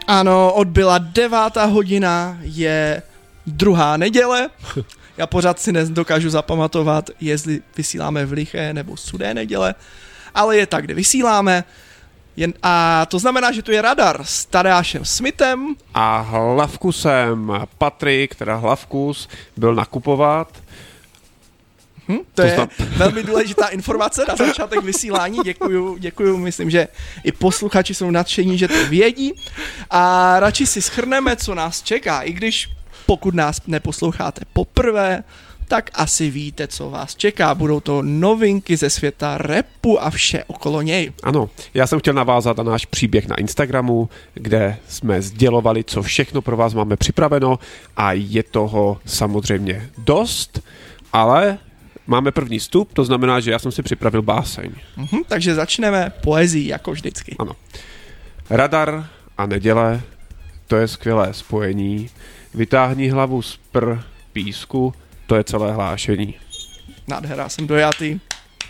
Ano, odbyla 9. hodina, je 2. neděle. Já pořád si nedokážu zapamatovat, jestli vysíláme v liché nebo sudé neděle, ale je tak, kde vysíláme. A to znamená, že tu je Radar s Tadeášem Smithem. A Hlavkusem. Patrik, teda Hlavkus, byl nakupovat. To je velmi důležitá informace na začátek vysílání. Děkuju, myslím, že i posluchači jsou nadšení, že to vědí. A radši si shrneme, co nás čeká, i když pokud nás neposloucháte poprvé, tak asi víte, co vás čeká. Budou to novinky ze světa rapu a vše okolo něj. Ano, já jsem chtěl navázat na náš příběh na Instagramu, kde jsme sdělovali, co všechno pro vás máme připraveno a je toho samozřejmě dost, ale máme první vstup, to znamená, že já jsem si připravil báseň. Takže začneme poezí, jako vždycky. Ano. Radar a neděle, to je skvělé spojení. Vytáhni hlavu z písku, to je celé hlášení. Nádhera, jsem dojatý.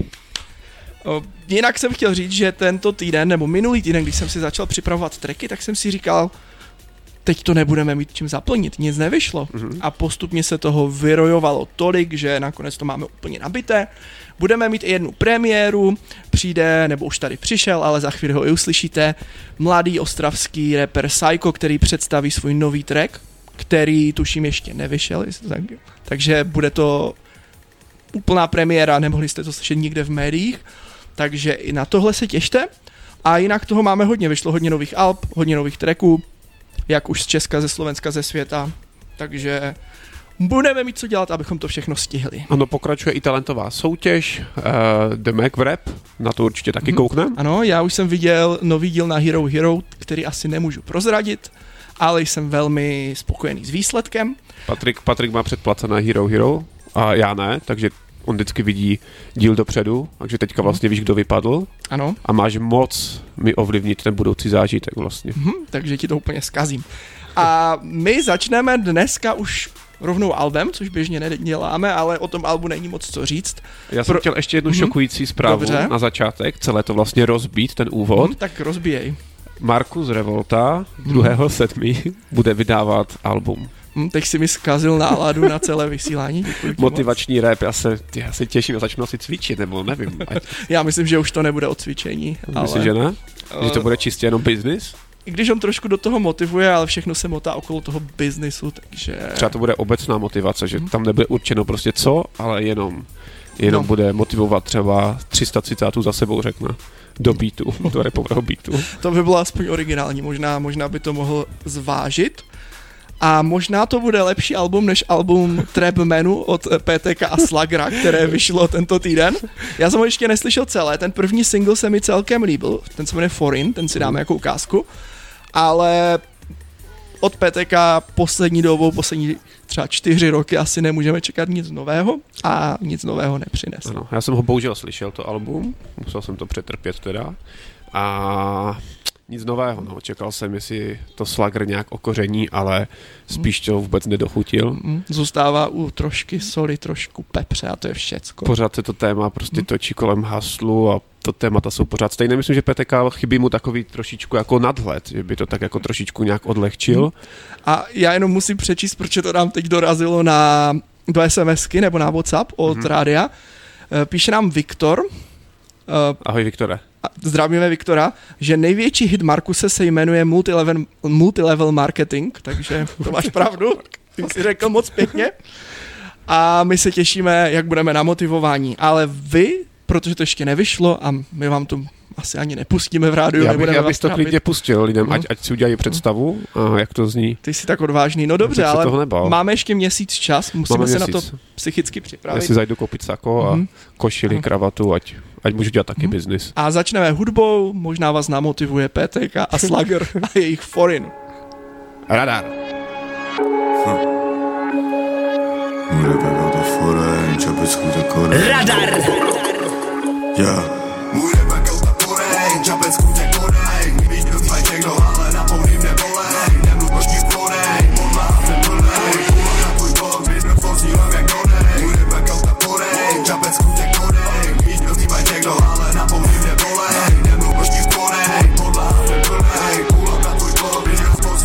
Jinak jsem chtěl říct, že tento týden, nebo minulý týden, když jsem si začal připravovat tracky, tak jsem si říkal, teď to nebudeme mít čím zaplnit, nic nevyšlo. A postupně se toho vyrojovalo tolik, že nakonec to máme úplně nabité. Budeme mít i jednu premiéru, přijde, nebo už tady přišel, ale za chvíli ho i uslyšíte, mladý ostravský rapper Psycho, který představí svůj nový track, který tuším ještě nevyšel, takže bude to úplná premiéra, nemohli jste to slyšet nikde v médiích, takže i na tohle se těšte. A jinak toho máme hodně, vyšlo hodně nových alb, hodně nových tracků, jak už z Česka, ze Slovenska, ze světa, takže budeme mít co dělat, abychom to všechno stihli. Ano, pokračuje i talentová soutěž, The Mac v Rap, na to určitě taky koukneme. Ano, já už jsem viděl nový díl na Hero, který asi nemůžu prozradit, ale jsem velmi spokojený s výsledkem. Patrik má předplacené Hero a já ne, takže on vždycky vidí díl dopředu, takže teďka vlastně víš, kdo vypadl. Ano. A máš moc mi ovlivnit ten budoucí zážitek vlastně. Takže ti to úplně zkazím. A my začneme dneska už rovnou albem, což běžně neděláme, ale o tom albu není moc co říct. Já jsem chtěl ještě jednu šokující zprávu na začátek, celé to vlastně rozbít, ten úvod. Tak rozbíjej. Markus Revolta 2.7. bude vydávat album. Teď si mi zkazil náladu na celé vysílání. Motivační rap, já se těším, já začnu asi cvičit, nebo nevím. Já myslím, že už to nebude o cvičení. Myslím, že ne? Že to bude čistě jenom business? I když on trošku do toho motivuje, ale všechno se motá okolo toho biznisu, takže... Třeba to bude obecná motivace, že tam nebude určeno prostě co, ale jenom bude motivovat třeba 300 citátů za sebou, řekne. Do beatu, do rapového beatu. To by bylo aspoň originální, možná by to mohl zvážit. A možná to bude lepší album než album Trap Menu od PTK a Slagra, které vyšlo tento týden. Já jsem ho ještě neslyšel celé, ten první single se mi celkem líbil, ten se jmenuje Foreign, ten si dáme jako ukázku, ale od PTK poslední třeba 4 roky asi nemůžeme čekat nic nového a nic nového nepřines. Ano, já jsem ho bohužel slyšel, to album, musel jsem to přetrpět teda a nic nového, no. Čekal jsem, jestli to Slagr nějak okoření, ale spíš to vůbec nedochutil. Zůstává u trošky soli, trošku pepře a to je všecko. Pořád se to téma prostě točí kolem haslu a to témata jsou pořád stejné. Myslím, že PTK chybí mu takový trošičku jako nadhled, že by to tak jako trošičku nějak odlehčil. A já jenom musím přečíst, proč to nám teď dorazilo do SMSky nebo na WhatsApp od rádia. Píše nám Viktor. Ahoj Viktore. Zdravíme Viktora, že největší hit Markuse se jmenuje Multilevel Marketing, takže to máš pravdu, ty jsi řekl moc pěkně. A my se těšíme, jak budeme na motivování, ale vy, protože to ještě nevyšlo a my vám to asi ani nepustíme v rádiu. Já bych to klidně pustil lidem, ať si udělají představu, jak to zní. Ty jsi tak odvážný, no dobře, ale máme ještě měsíc čas, musíme se na to psychicky připravit. Já si zajdu koupit sako a košili, kravatu, ať můžu dělat taky biznis. A začneme hudbou, možná vás namotivuje PTK a Slagr a jejich Foreign. Radar. Radar. Můj rap kauta Foreign, čapec kůže Korej, když dostaj někdo, ale na pouhým nebolej, nemluv očky Foreign, podla jsem plnej, půl na tvůj blok, business posílám jak Korej. Můj rap kauta Foreign, čapec kůže Korej, když dostaj někdo, ale na pouhým nebolej, nemluv očky Foreign, podla jsem plnej, půl na tvůj blok, business posílám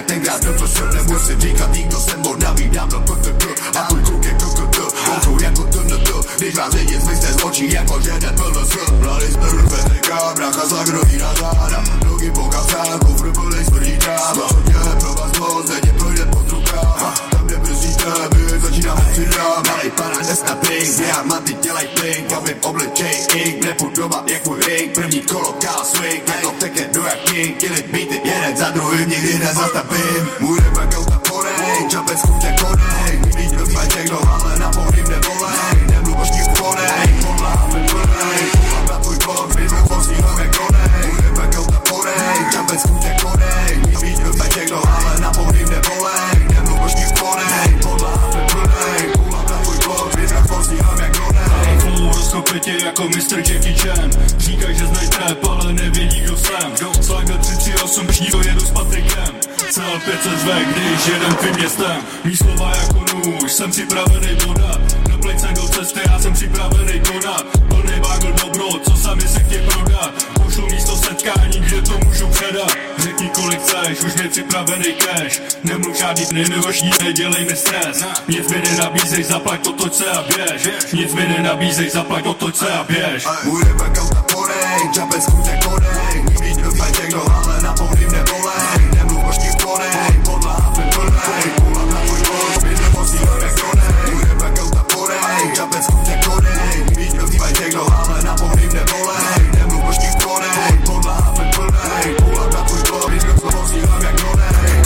tenkrát doprosl, nemusím říkat, nikdo jsem bod navídám do PTT. A tvůj kluk je KKT, koukou jako TNT. Když vás vidět, zmizte z očí, jako že den PLS. Mladý smrl, PTK, brácha zagrodí na záda. Nohy po kapsách, kufr plnej smrdí tráva. Je pro vás moc, denně projde pod rukama. Tam nebrzdíte, my začínáme přidám. Malej pana dneska pink, diamanty dělaj blink. Já vím obličej ink, nepůjdovat jak můj ring. První kolo ká swing, jako teke do jak king. Killit beaty, jeden za druhým, nikdy nezastavím. Můj rap auta porej, čapec kůže konej. Nikdy dostaj všechno, ale na pohlím nevolej. Nemluv ní ponej, podláme plnej. Půlám na tvůj bok, vyzvu posílám jak konej. Můj rap auta porej, čapec kůže konej. Nikdy dostaj všechno, ale na pohlím nevolej. Nemluv ní ponej, podláme plnej. Půlám na tvůj bok, vyzvu posílám jak konej. Flow rozkopetě jako Mr. Jackie Chan. Říkaj, že znají trap, ale nevědí, kdo jsem. Slaga 338, to jedu s Patrikem. Cel 500 řve, když jedem tvým městem. Mí slova jako nůž, jsem připravený voda. Na plejcem do cesty, já jsem připravený konat. Plnej bagel dobro, co sami se chtěj prodat. Pošlu místo setkání, kde to můžu předat. Řekni kolik chceš, už mě připravený cash. Nemluv žádný dny, nehošní, nedělej mi stres. Nic mi nenabízej, zaplať to, toď se a běž. Nic mi nenabízej, zaplať to, toď se a běž. Můj rap auta porej, čapec kůže konej. Nikdy dostaj všechno, ale na pohlím nevolej. Nemluv ní konej, podláme plnej. Půlám na tvůj bok, vyzvu posílám jak konej. Můj rap auta porej, čapec kůže konej. Nikdy dostaj všechno, ale na pohlím nevolej. Nemluv ní konej, podláme plnej. Půlám na tvůj bok, vyzvu posílám jak konej.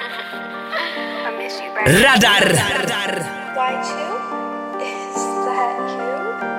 Radar. White you? Is that you?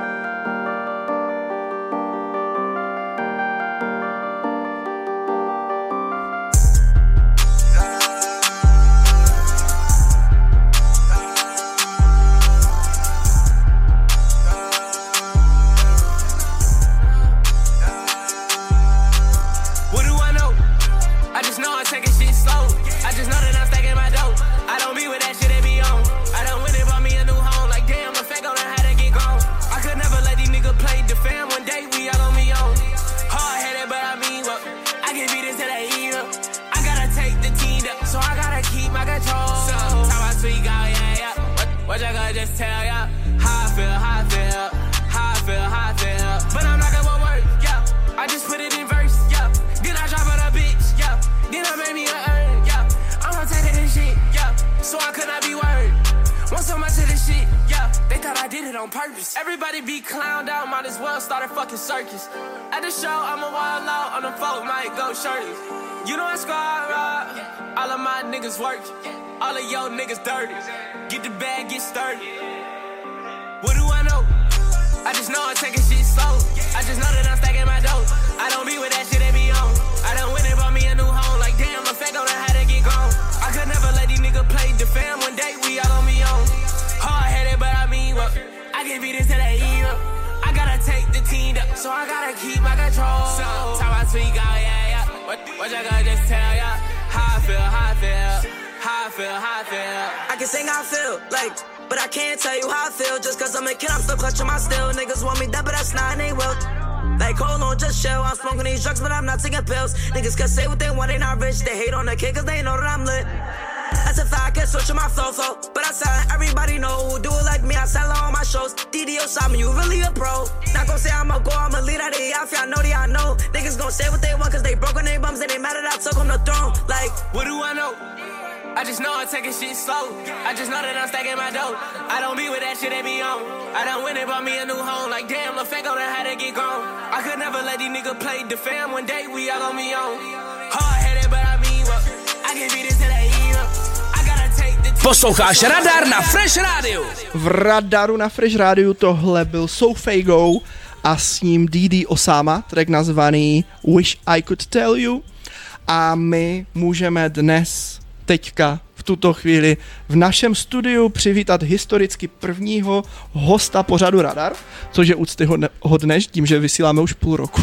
What do I know? I just know I'm taking shit slow. I just know that I'm stacking my dough. I don't be with that shit they be on. I done went and bought me a new home. Like damn, the fake on how to get gone. I could never let these niggas play the fam. One day we all on me on. Hard headed, but I mean what? I can beat this till they eat up. I gotta take the team up, so I gotta keep my control. So how I tweak out, yeah. What you gonna just tell ya? How I feel, how I feel, how I feel, how I feel. But I'm not gonna work, yeah. I just put it in verse, yeah. Then I drop it a bitch, yeah. Then I made me a earn, yeah. I'm not taking this shit, yeah. So I could not be worried. Want so much of this shit, yeah. They thought I did it on purpose. Everybody be clowned out, might as well start a fucking circus. At the show, I'm a wild out, on the folk might go shirtless. You know I squad rock, all of my niggas work. All of your niggas dirty. Get the bag, get sturdy. What do I know? I just know I'm taking shit slow. I just know that I'm stacking my dough. I don't be with that shit they be on. I done went and bought me a new home. Like damn, the fake on how to get gone. I could never let these niggas play the fam. One day we all on me on. Hard headed, but I mean what? I can beat this till they eat up. I gotta take the team up, so I gotta keep my control. So time I tweak out, yeah. What you gonna just tell ya? How I feel, how I feel, how I feel, how I feel. I can sing how I feel, like, but I can't tell you how I feel. Just cause I'm a kid, I'm still clutching my steel. Niggas want me dead, but that's not, they will. Like, hold on, just chill. I'm smoking these drugs, but I'm not taking pills. Niggas can say what they want, they not rich. They hate on the kid cause they know that I'm lit. That's a fact, I can switch on my flow. But I sound everybody know. Do it like me, I sell on my shows. DDO Simon, you really a pro. Not gon' say I'm a go, I'm a lead out of the outfit. I know they I know. Niggas gon' say what they want cause they broke on their bums and they mad that I took on the throne. Like, what do I know? I just know I'm taking shit slow. I just know that I'm stacking my dough. I don't be with that shit they be on. I done went and bought me a new home. Like damn, the fake on how to get gone. I could never let these niggas play the fam. One day we all on me on. Hard headed, but I mean what? I can beat this till they eat up. I gotta take the. Posloucháš Radar na Fresh Radio. V Radaru na Fresh Radio tohle byl Sofago a s ním DD Osama, track nazvaný Wish I Could Tell You. A my můžeme dnes, teďka, v tuto chvíli, v našem studiu přivítat historicky prvního hosta pořadu Radar, což je úctyhodné tím, že vysíláme už půl roku.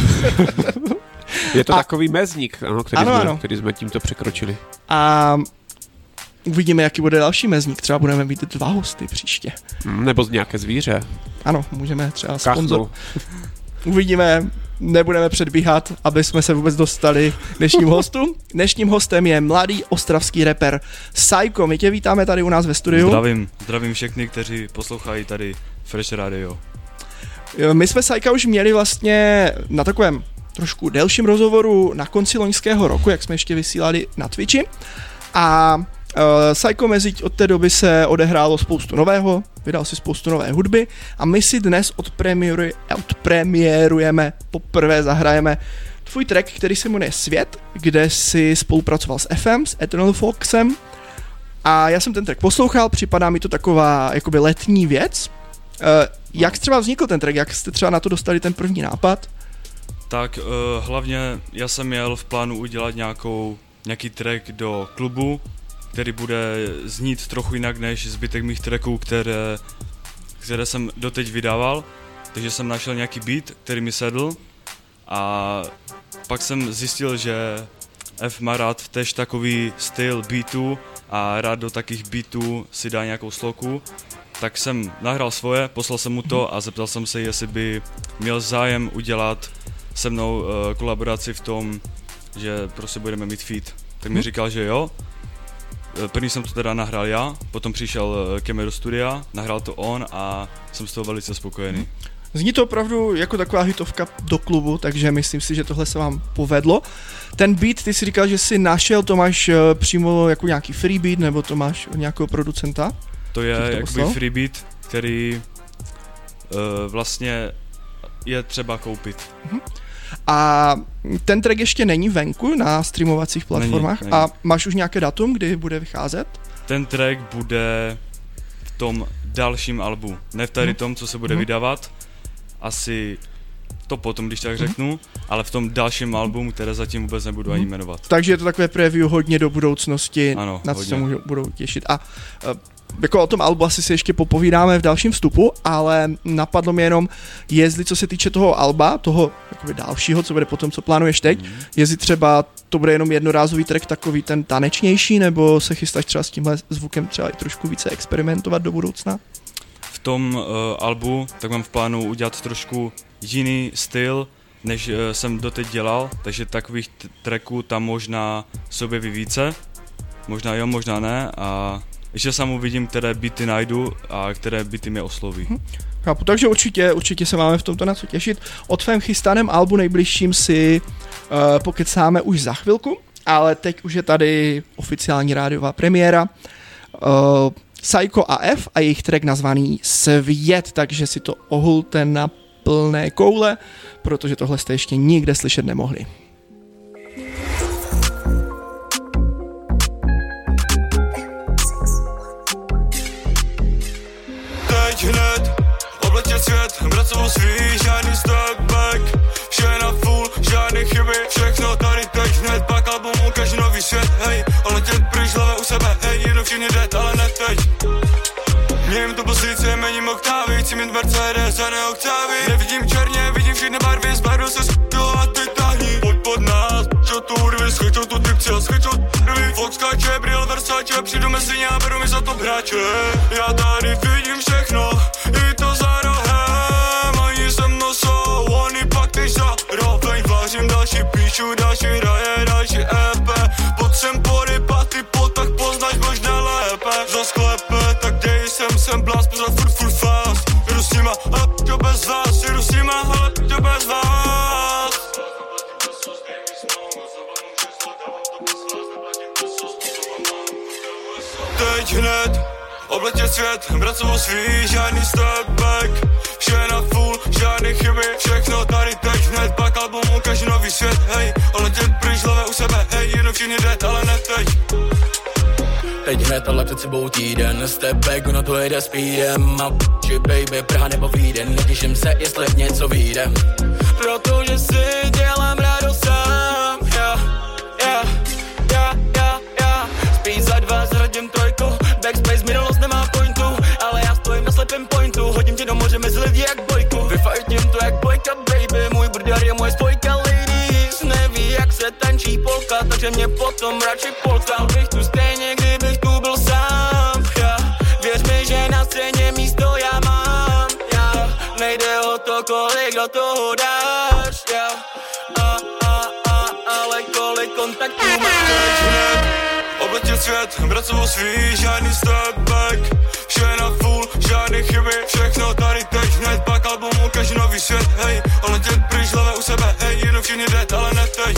Je to takový mezník, ano, který jsme tímto překročili. A uvidíme, jaký bude další mezník. Třeba budeme mít 2 hosty příště. Nebo z nějaké zvíře. Ano, můžeme třeba sponzor. Uvidíme. nebudeme předbíhat, aby jsme se vůbec dostali k dnešním hostům. Dnešním hostem je mladý ostravský rapper Psycho. My tě vítáme tady u nás ve studiu. Zdravím všechny, kteří poslouchají tady Fresh Radio. My jsme Psycha už měli vlastně na takovém trošku delším rozhovoru na konci loňského roku, jak jsme ještě vysílali na Twitchi. A Psycho mezi od té doby se odehrálo spoustu nového, vydal si spoustu nové hudby a my si dnes odpremiérujeme, poprvé zahrajeme tvůj track, který se jmenuje Svět, kde si spolupracoval s FM, s Eternal Foxem a já jsem ten track poslouchal, připadá mi to taková jakoby letní věc. Jak třeba vznikl ten track, jak jste třeba na to dostali ten první nápad? Tak hlavně já jsem měl v plánu udělat nějaký track do klubu, který bude znít trochu jinak než zbytek mých tracků, které jsem doteď vydával. Takže jsem našel nějaký beat, který mi sedl a pak jsem zjistil, že F má rád tež takový styl beatů a rád do takých beatů si dá nějakou sloku. Tak jsem nahrál svoje, poslal jsem mu to a zeptal jsem se, jestli by měl zájem udělat se mnou kolaboraci v tom, že prostě budeme mít feat. Tak mi říkal, že jo. První jsem to teda nahrál já, potom přišel ke mně do studia, nahrál to on a jsem z toho velice spokojený. Zní to opravdu jako taková hitovka do klubu, takže myslím si, že tohle se vám povedlo. Ten beat, ty si říkal, že jsi našel, to máš přímo jako nějaký free beat, nebo to máš od nějakého producenta? To je jakoby free beat, který vlastně je třeba koupit. A ten track ještě není venku na streamovacích platformách není. A máš už nějaké datum, kdy bude vycházet? Ten track bude v tom dalším albu, ne v tady tom, co se bude vydávat, asi to potom, když tak řeknu, ale v tom dalším albu, které zatím vůbec nebudu ani jmenovat. Takže je to takové preview hodně do budoucnosti, ano, na co se budou těšit. A jako o tom albu asi se ještě popovídáme v dalším vstupu, ale napadlo mě jenom, jestli co se týče toho alba, toho jakoby dalšího, co bude potom, co plánuješ teď, jestli třeba to bude jenom jednorázový track, takový ten tanečnější, nebo se chystáš třeba s tímhle zvukem třeba i trošku více experimentovat do budoucna? V tom albu tak mám v plánu udělat trošku jiný styl, než jsem doteď dělal, takže takových tracků tam možná se objeví více, možná jo, možná ne a ještě sám uvidím, které beaty najdu a které beaty mě osloví. Chápu, takže určitě se máme v tomto na co těšit. O tvém chystaném albu nejbližším si pokecáme už za chvilku, ale teď už je tady oficiální rádiová premiéra. Psycho a F a jejich track nazvaný Svět, takže si to ohulte na plné koule, protože tohle jste ještě nikde slyšet nemohli. Teď hned obletět svět, brát sebou svý, žádný step back, vše na full, žádný chyby, všechno tady teď hned, pak album ukáže nový svět, hej, letět pryč, hlava u sebe, hej, jednou všichni jdet, ale ne teď. Mějím to pozice, mením oktávy, chci mít Mercedes a ne oktávy, nevidím černě, vidím všechny barvy, zbarvil se s***o a ty tahni, pojď pod nás, čo tu urvy, schyťou tu typci a schyťou rvy, Fox skáče, Briel Versace, přijdu mezi ně a beru mi za top hráče, já tady vidím všechno, i to za rohem, oni se mnou jsou, oni pak teď zároveň, vážím další píšu, další hraje, další EP, pod sem porybat, ty pot, tak poznáš možná lépe, za sklepe, tak dej sem blast, pořád furt fast, jdu s nima, ale to bez vás, jdu s nima, ale to bez vás. Teď hned obletět svět, brát sebou svý, žádný step back, vše na full, žádný chyby, všechno tady teď hned, pak album ukáže nový svět, hej, letět pryč, hlava u sebe, hej, jednou všichni jdet, ale ne teď. Teď hned, ale před sebou týden, step back, ono to jede speedem, a či baby, Praha nebo Víden, netěším se, jestli něco vyjde, protože si dělám radost sám, spíš za 2 zradím trojku, backspace minulost nemá pointu, ale já stojím na slepém pointu, hodím tě do moře mezi lidi jak bojku, vyfajtím to jak bojka baby, můj brdar je moje spojka ladies, neví jak se tančí polka, takže mě potom radši polka, bych tu stejně, kdybych tu byl sám, věř mi, že na scéně místo já mám, nejde o to kolik za toho dáš, ale kolik kontaktů máš hned. Obletěl svět, bracovou svý, žádný step back. Vše na full, žádný chyby, všechno tady teď hned. Pak albumu, každý nový svět, hej. Oletět pryč, hlava u sebe, hej. Jednou všichni dead, ale ne teď.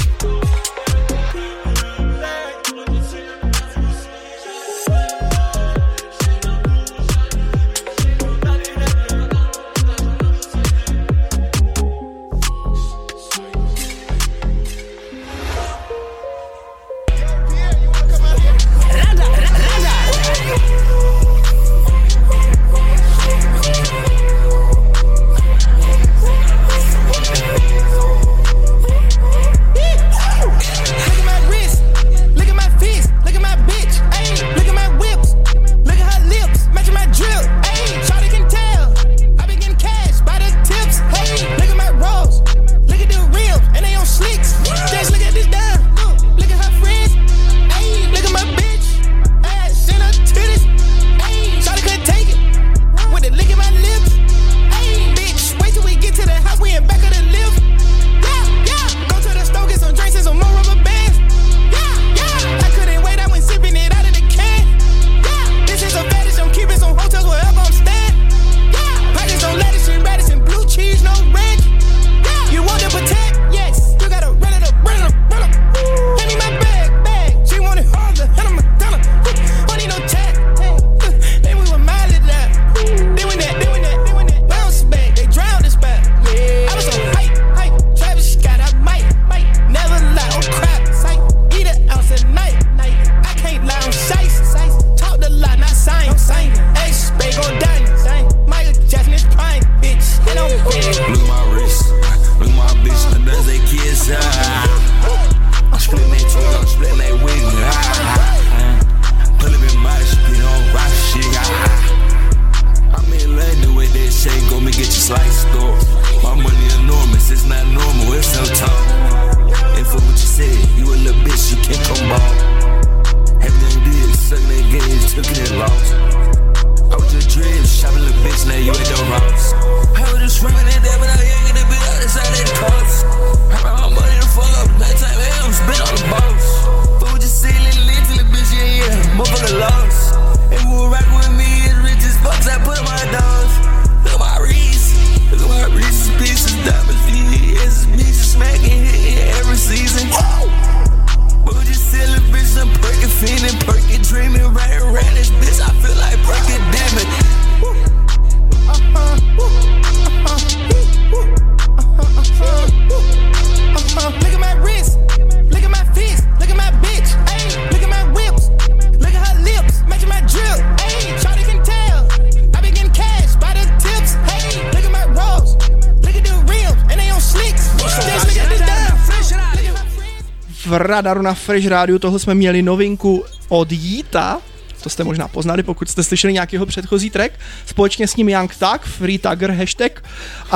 v Radaru na Fresh Rádiu. Tohle jsme měli novinku od Yeeta, to jste možná poznali, pokud jste slyšeli nějakého předchozí track. Společně s ním Young Thug, Free Thugger hashtag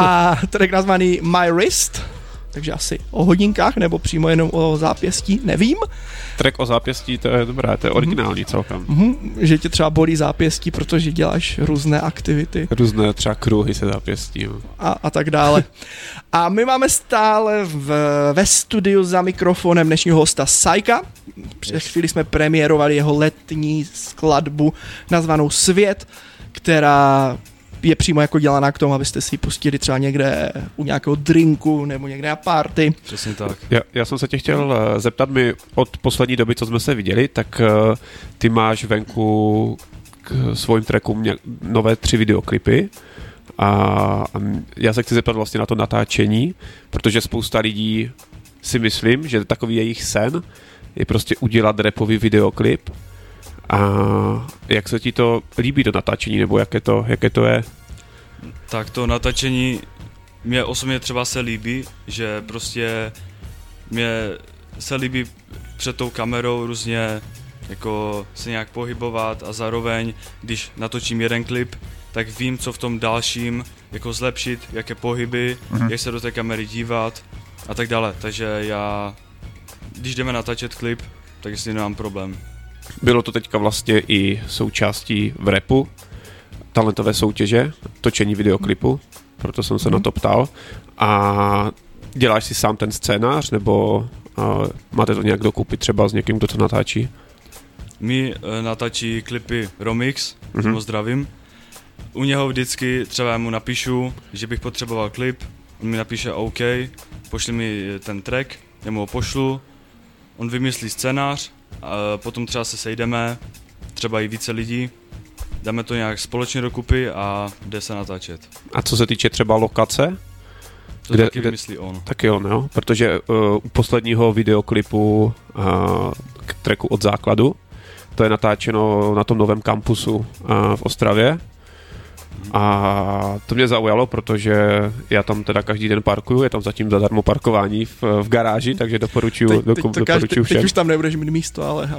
a track nazvaný My Wrist, takže asi o hodinkách nebo přímo jenom o zápěstí, nevím. Track o zápěstí, to je dobré, to je originální celkem. Že tě třeba bolí zápěstí, protože děláš různé aktivity. Různé třeba kruhy se zápěstí. A tak dále. A my máme stále ve studiu za mikrofonem dnešního hosta Sajka. Před chvíli jsme premiérovali jeho letní skladbu nazvanou Svět, která je přímo jako dělaná k tomu, abyste si ji pustili třeba někde u nějakého drinku nebo někde na party. Přesně tak. Já jsem se tě chtěl zeptat, my od poslední doby, co jsme se viděli, tak ty máš venku k svým trackům nové 3 videoklipy a já se chci zeptat vlastně na to natáčení, protože spousta lidí si myslím, že takový jejich sen je prostě udělat rapový videoklip. A jak se ti to líbí do natáčení, nebo jaké to je? Tak to natáčení mě osobně třeba se líbí, že prostě mě se líbí před tou kamerou různě jako se nějak pohybovat a zároveň, když natočím jeden klip, tak vím, co v tom dalším jako zlepšit, jaké pohyby, jak se do té kamery dívat a tak dále. Takže já, když jdeme natáčet klip, tak jestli nemám problém. Bylo to teďka vlastně i součástí v rapu, talentové soutěže, točení videoklipu? proto jsem se na to ptal. A děláš si sám ten scénář, nebo máte to nějak dokupit třeba s někým, kdo to natáčí? My natáčí klipy Romix, ho zdravím. U něho vždycky třeba já mu napíšu, že bych potřeboval klip, on mi napíše OK, pošli mi ten track, já mu ho pošlu, on vymyslí scénář, a potom třeba se sejdeme, třeba i více lidí, dáme to nějak společně dokupy a jde se natáčet. A co se týče třeba lokace? To taky vymyslí on. Taky on, jo, protože u posledního videoklipu k tracku Od základu, to je natáčeno na tom novém kampusu v Ostravě. A to mě zaujalo, protože já tam teda každý den parkuju, je tam zatím zadarmo parkování v garáži, takže doporučuji všem. Teď už tam nebudeš mít místo, ale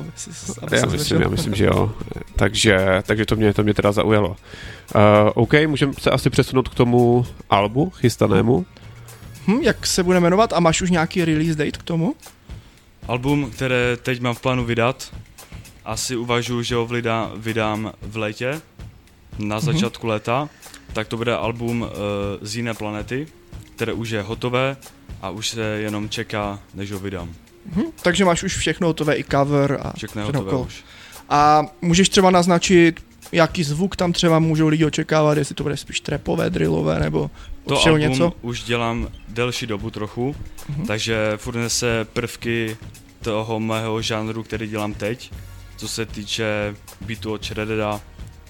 já myslím, že jo. Takže to mě teda zaujalo. OK, můžeme se asi přesunout k tomu albu chystanému. Jak se bude jmenovat a máš už nějaký release date k tomu? Album, které teď mám v plánu vydat, asi uvažuji, že ho vydám v létě, na začátku léta, tak to bude album z jiné planety, které už je hotové a už se jenom čeká, než ho vydám. Takže máš už všechno hotové, i cover a všechno hotové už. A můžeš třeba naznačit, jaký zvuk tam třeba můžou lidi očekávat, jestli to bude spíš trapové, drillové nebo to album něco? Už dělám delší dobu trochu, takže furt nese prvky toho mého žánru, který dělám teď, co se týče beatu od Shreddeda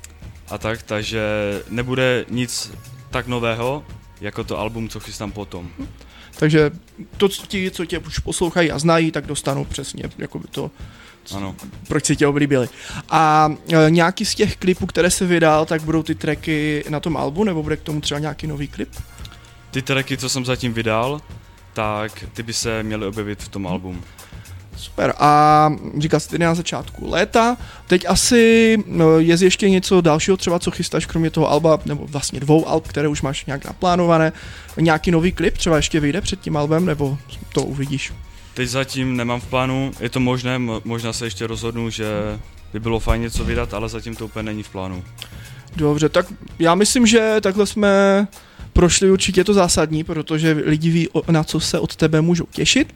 a tak, takže nebude nic tak nového, jako to album, co chystám potom. Takže to, co tě už poslouchají a znají, tak dostanou přesně jakoby to, ano. Proč si tě oblíbili. A nějaký z těch klipů, které se vydal, tak budou ty tracky na tom albu, nebo bude k tomu třeba nějaký nový klip? Ty tracky, co jsem zatím vydal, tak ty by se měly objevit v tom albumu. Super. A říkal jsi tedy na začátku léta. Teď asi je ještě něco dalšího třeba, co chystáš kromě toho alba, nebo vlastně 2 alb, které už máš nějak naplánované. Nějaký nový klip třeba ještě vyjde před tím albem, nebo to uvidíš? Teď zatím nemám v plánu, je to možné, možná se ještě rozhodnu, že by bylo fajn něco vydat, ale zatím to úplně není v plánu. Dobře, tak já myslím, že takhle jsme prošli určitě to zásadní, protože lidi ví, na co se od tebe můžou těšit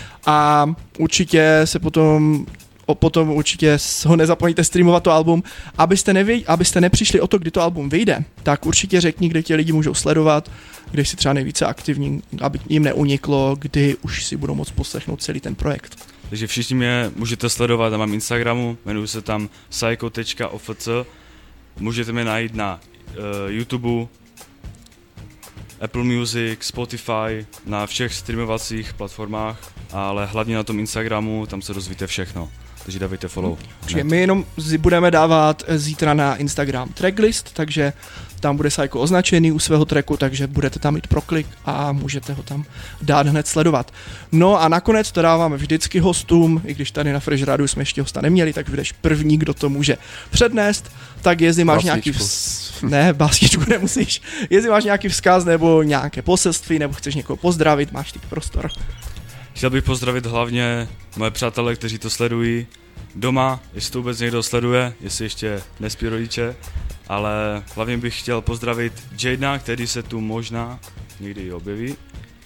a určitě se potom určitě ho nezapomeňte streamovat to album. Abyste nepřišli o to, kdy to album vyjde, tak určitě řekni, kde tě lidi můžou sledovat, kde jsi třeba nejvíce aktivní, aby jim neuniklo, kdy už si budou moct poslechnout celý ten projekt. Takže všichni mě můžete sledovat na mém Instagramu, jmenuji se tam psycho.ofc, můžete mě najít na YouTube, Apple Music, Spotify, na všech streamovacích platformách, ale hlavně na tom Instagramu, tam se dozvíte všechno. Takže dávejte follow. Takže my jenom budeme dávat zítra na Instagram tracklist, takže tam bude Psycho označený u svého tracku, takže budete tam mít proklik a můžete ho tam dát hned sledovat. No a nakonec to dáváme vždycky hostům, i když tady na Fresh Radiu jsme ještě hosta neměli, tak budeš první, kdo to může přednést, tak jestli máš nějaký básničku nemusíš, jestli máš nějaký vzkaz nebo nějaké poselství, nebo chceš někoho pozdravit, máš teď prostor. Chtěl bych pozdravit hlavně moje přátelé, kteří to sledují doma, jestli to vůbec někdo sleduje, jestli ještě nespí rodiče, ale hlavně bych chtěl pozdravit Jadena, který se tu možná někdy objeví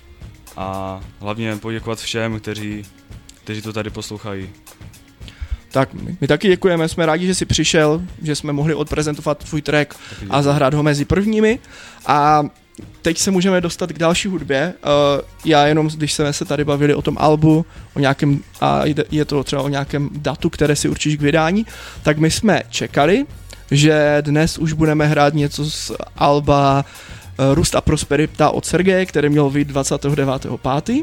a hlavně poděkovat všem, kteří to tady poslouchají. Tak my taky děkujeme, jsme rádi, že jsi přišel, že jsme mohli odprezentovat tvůj track a zahrát ho mezi prvními a teď se můžeme dostat k další hudbě. Já jenom, když jsme se tady bavili o tom albu, o nějakém, a je to třeba o nějakém datu, které si určíš k vydání, tak my jsme čekali, že dnes už budeme hrát něco z alba Růst a prosperita od Sergeje, který měl vyjít 29.5.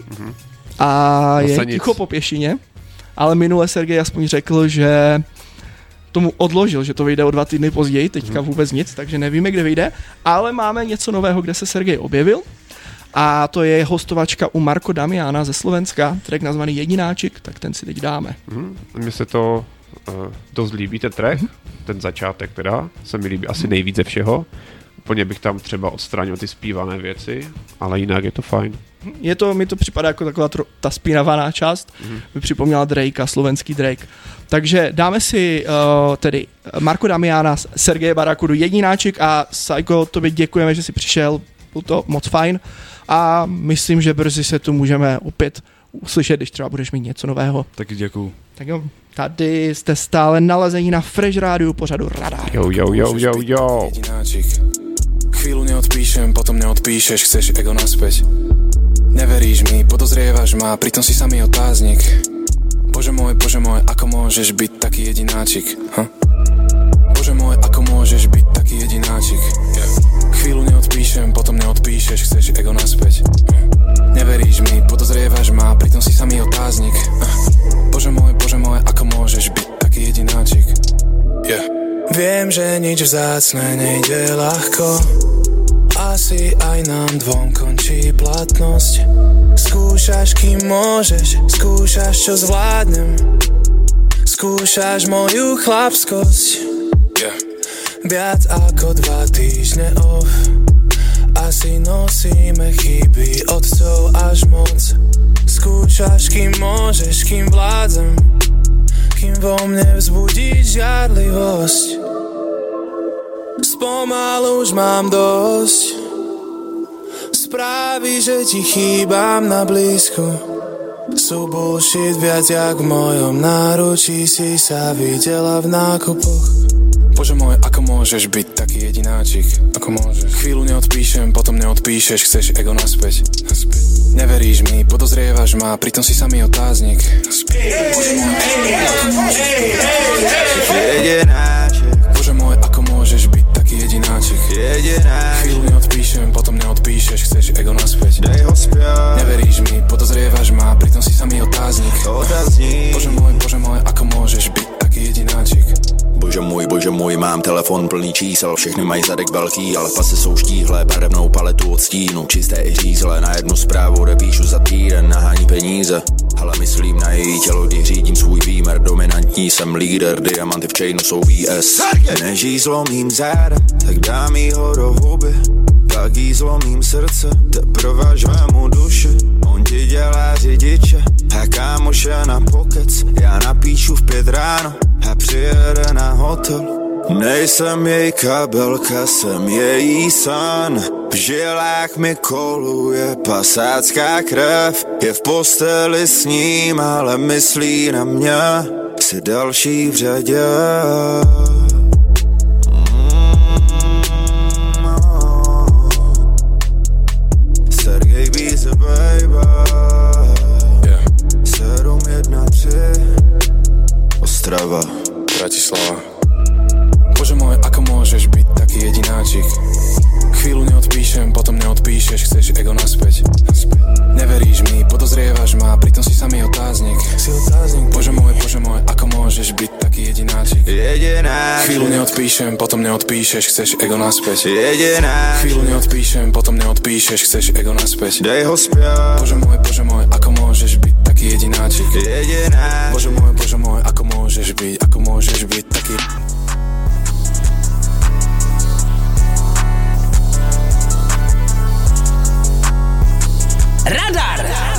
A je ticho po pěšině, ale minule Sergej aspoň řekl, že tomu odložil, že to vyjde o 2 týdny později, teďka vůbec nic, takže nevíme, kde vyjde, ale máme něco nového, kde se Sergej objevil a to je hostovačka u Marko Damiana ze Slovenska, track nazvaný Jedináček, tak ten si teď dáme. Mně se to dost líbí, ten track, ten začátek teda, se mi líbí asi nejvíc ze všeho, úplně bych tam třeba odstranil ty zpívané věci, ale jinak je to fajn. Mi to připadá jako taková ta spínavaná část, mi připomněla Drakea, slovenský Drake. Takže dáme si tedy Marko Damiana, Sergeje Barakudu, Jedináček a Psycho, tobě děkujeme, že jsi přišel, bylo to moc fajn a myslím, že brzy se tu můžeme opět uslyšet, když třeba budeš mít něco nového. Taky děkuju. Tak jo, tady jste stále nalezení na Fresh Rádiu pořadu Radar. Jo. Chvíľu neodpíšem, potom neodpíšeš, chceš ego naspäť. Neveríš mi, podozrievaš ma, pritom si samý otáznik. Bože môj, ako môžeš byť taký jedináčik? Bože môj, ako môžeš byť taký jedináčik? Chvíľu neodpíšem, potom neodpíšeš, chceš ego naspäť. Neveríš mi, podozrievaš ma, pritom si samý otáznik. Bože môj, ako môžeš byť taký jedináčik? Viem, že nič vzácne nejde ľahko, asi aj nám dvom končí platnosť. Skúšaš, kým môžeš, skúšaš, čo zvládnem, skúšaš moju chlapskosť. Viac ako 2 týždne off, asi nosíme chyby otcov až moc. Skúšaš, kým môžeš, kým vládzem, kým vo mne vzbudíš žiarlivosť. Spomalu už mám dosť správy, že ti chýbam na blízku. Sú bullshit viac jak v mojom náručí, si sa videla v nákupoch. Bože môj, ako môžeš byť taký jedináčik? Ako môžeš? Chvíľu neodpíšem, potom neodpíšeš, chceš ego naspäť. Neveríš mi, podozrievaš ma, pritom si samý otáznik. Jedináčik. Bože môj, ako môžeš byť taký jedináčik? Jedináčik. Chvíľu neodpíšem, potom neodpíšeš, chceš ego naspäť. Dej ho spiať. Neveríš mi, podozrievaš ma, pritom si samý otáznik. Bože môj, ako môžeš byť taký jedináčik? Bože můj, mám telefon plný čísel, všechny mají zadek velký, ale pasy jsou štíhlé, barevnou paletu od stínu, čisté i řízlé, na jednu zprávu odepíšu za týden, nahání peníze, ale myslím na její tělo, kdy řídím svůj výmer, dominantní jsem líder, diamanty v chainu jsou VS. Než jí zlomím záda, tak dám jí ho do huby, pak jí zlomím srdce, teprve žvému duši, on ti dělá řidiče a kámoše na pokec, já napíšu v 5 ráno a přijede na hotel. Nejsem její kabelka, jsem její sen. V žilách mi koluje pasácká krev. Je v posteli s ním, ale myslí na mě. Jsi další v řadě. Sergej Bíze, baby. 713 Ostrava, Bratislava. Bože môj, ako môžeš byť taký jedináčik? Chvíľu neodpíšem, potom neodpíšeš, chceš ego naspäť. Neveríš mi, podozrievaš ma, pritom si samý otáznik. Bože môj, ako môžeš byť taký jedináčik? Chvíľu neodpíšem, potom neodpíšeš, chceš ego naspäť. Chvíľu neodpíšem, potom neodpíšeš, chceš ego naspäť. Dej ho spiať. Bože môj, ako môžeš byť taký jedináčik? Bože môj, ako môžeš byť taký... Radar!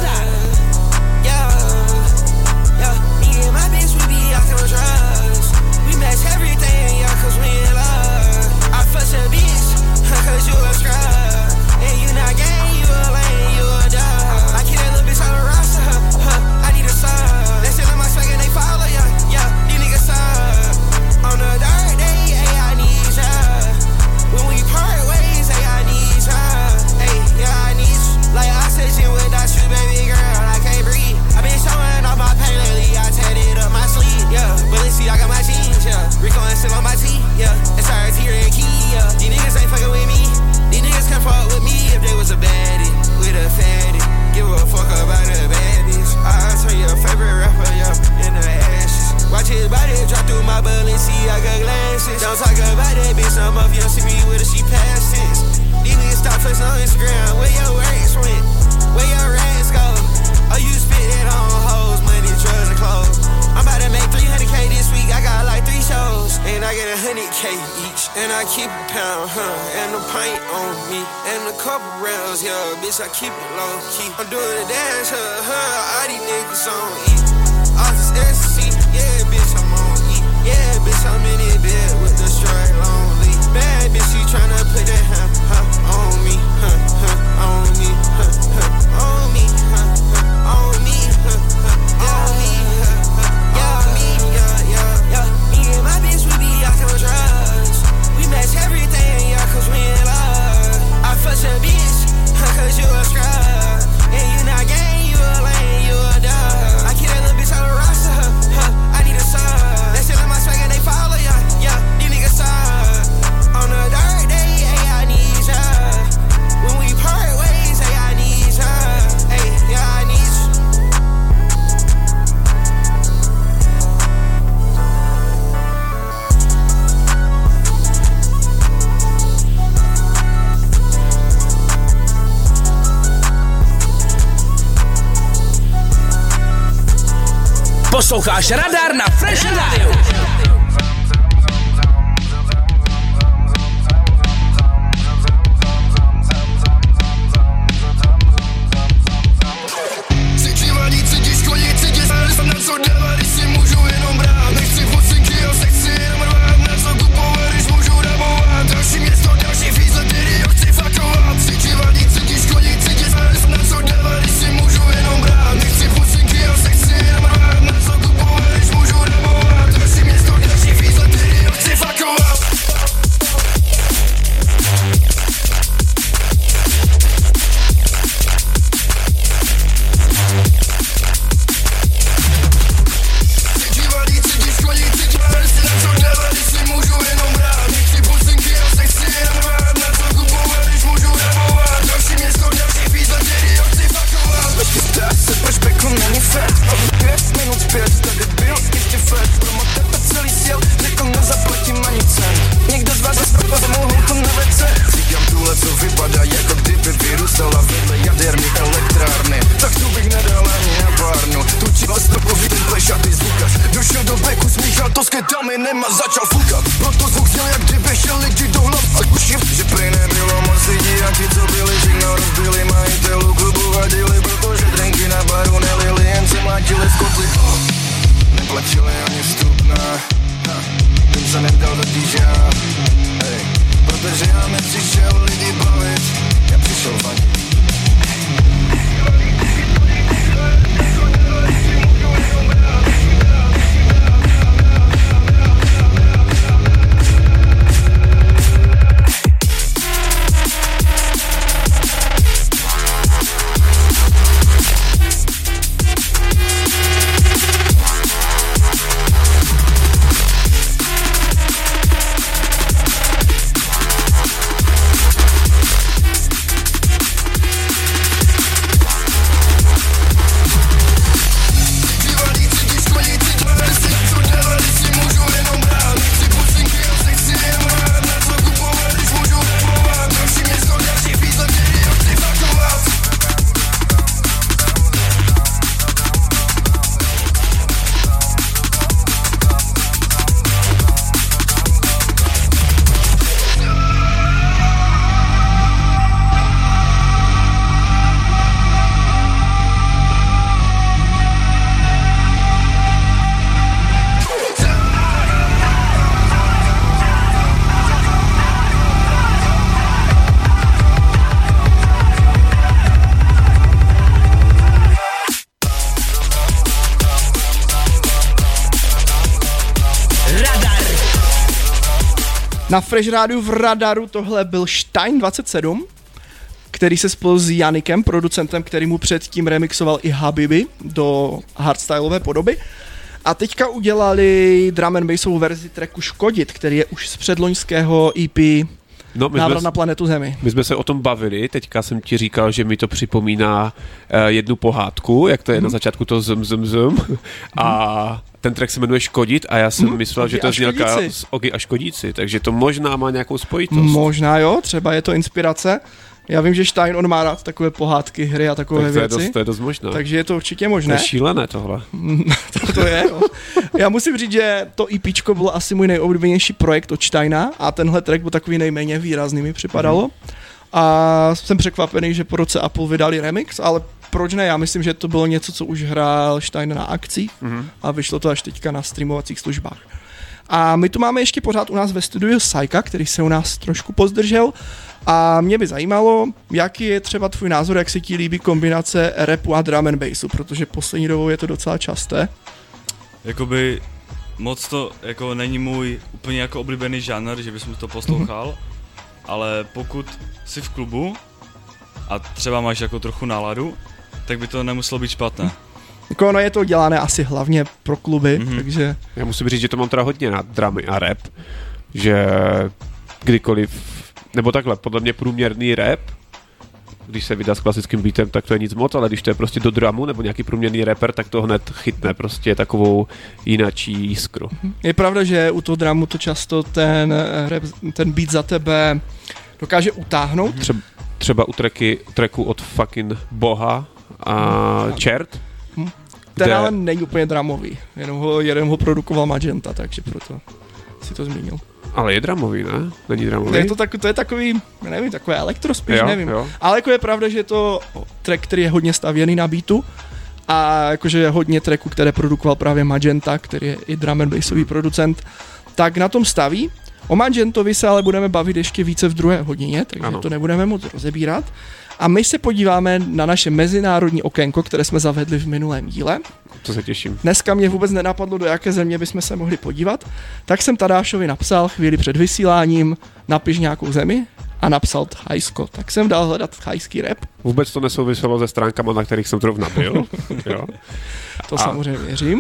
Rico and still on my teeth, yeah. It's RT and Key, yeah. These niggas ain't fucking with me. These niggas can't fuck with me if they was a baddie, with a fatty. Give a fuck about the baddies. I'll turn your favorite rapper, yeah, in the ashes. Watch his body drop through my Balenciaga glasses. Don't talk about that bitch, some of you see me with a she past tense. These niggas stop flexing on Instagram. Where your rats went? Where your rats go? Oh, you spit it on hoes, money, drugs, and clothes. I'm about to make 300K this week, I got like 3 shows. And I get 100K each, and I keep a pound, and a pint on me, and a couple rounds, yeah, bitch, I keep it low key. I'm doing a dance, all these niggas on E. All this ecstasy, yeah, bitch, I'm on E. Yeah, bitch, I'm in it bed with the straight lonely. Bad bitch, she tryna put that on me, Posloucháš Radar na Fresh Radio. Na Fresh Rádiu v Radaru tohle byl Stein 27, který se spojil s Janikem, producentem, který mu předtím remixoval i Habibi do hardstyleové podoby. A teďka udělali drum and bassovou verzi tracku Škodit, který je už z předloňského EP Návrat na planetu Zemi. My jsme se o tom bavili, teďka jsem ti říkal, že mi to připomíná jednu pohádku, jak to je na začátku to zm. A ten track se jmenuje Škodit a já jsem myslel, že to je znělka z Ogy a Škodíci, takže to možná má nějakou spojitost. Možná jo, třeba je to inspirace. Já vím, že Stein, on má rád takové pohádky, hry a takové věci. To je dost možné. Takže je to určitě možné. To je šílené tohle. to je, jo. Já musím říct, že to EPčko bylo asi můj nejoblíbenější projekt od Steina a tenhle track byl takový nejméně výrazný, mi připadalo. A jsem překvapený, že po roce Apple vydali remix, ale proč ne? Já myslím, že to bylo něco, co už hrál Stein na akcích a vyšlo to až teďka na streamovacích službách. A my tu máme ještě pořád u nás ve studiu Sajka, který se u nás trošku pozdržel. A mě by zajímalo, jaký je třeba tvůj názor, jak se ti líbí kombinace rapu a drum and bassu, protože poslední dobou je to docela časté. Jakoby moc to jako není můj úplně jako oblíbený žánr, že bys mi to poslouchal, ale pokud jsi v klubu a třeba máš jako trochu náladu, tak by to nemuselo být špatné. Jako ono je to dělané asi hlavně pro kluby, takže... Já musím říct, že to mám teda hodně na drumy a rap, že kdykoliv, nebo takhle, podle mě průměrný rap, když se vydá s klasickým beatem, tak to je nic moc, ale když to je prostě do drumu nebo nějaký průměrný rapper, tak to hned chytne prostě takovou jinačí jiskru. Je pravda, že u toho drumu to často ten beat za tebe dokáže utáhnout. Třeba u tracku od fucking Boha a Čert. Ten ale není úplně dramový, jenom ho produkoval Magenta, takže proto si to zmínil. Ale je dramový, ne? Není dramový? To je takový, nevím, takové elektro spíš, nevím. Jo. Ale jako je pravda, že je to track, který je hodně stavěný na beatu a jakože je hodně tracků, které produkoval právě Magenta, který je i drum and bassový producent, tak na tom staví. O Magentovi se ale budeme bavit ještě více v druhé hodině, takže to nebudeme moc rozebírat. A my se podíváme na naše mezinárodní okénko, které jsme zavedli v minulém díle. To se těším. Dneska mě vůbec nenapadlo, do jaké země bychom se mohli podívat, tak jsem Tadášovi napsal chvíli před vysíláním, napiš nějakou zemi a napsal Thajsko. Tak jsem dal hledat thajský rap. Vůbec to nesouviselo se stránkama, na kterých jsem zrovna byl. Jo. To samozřejmě věřím.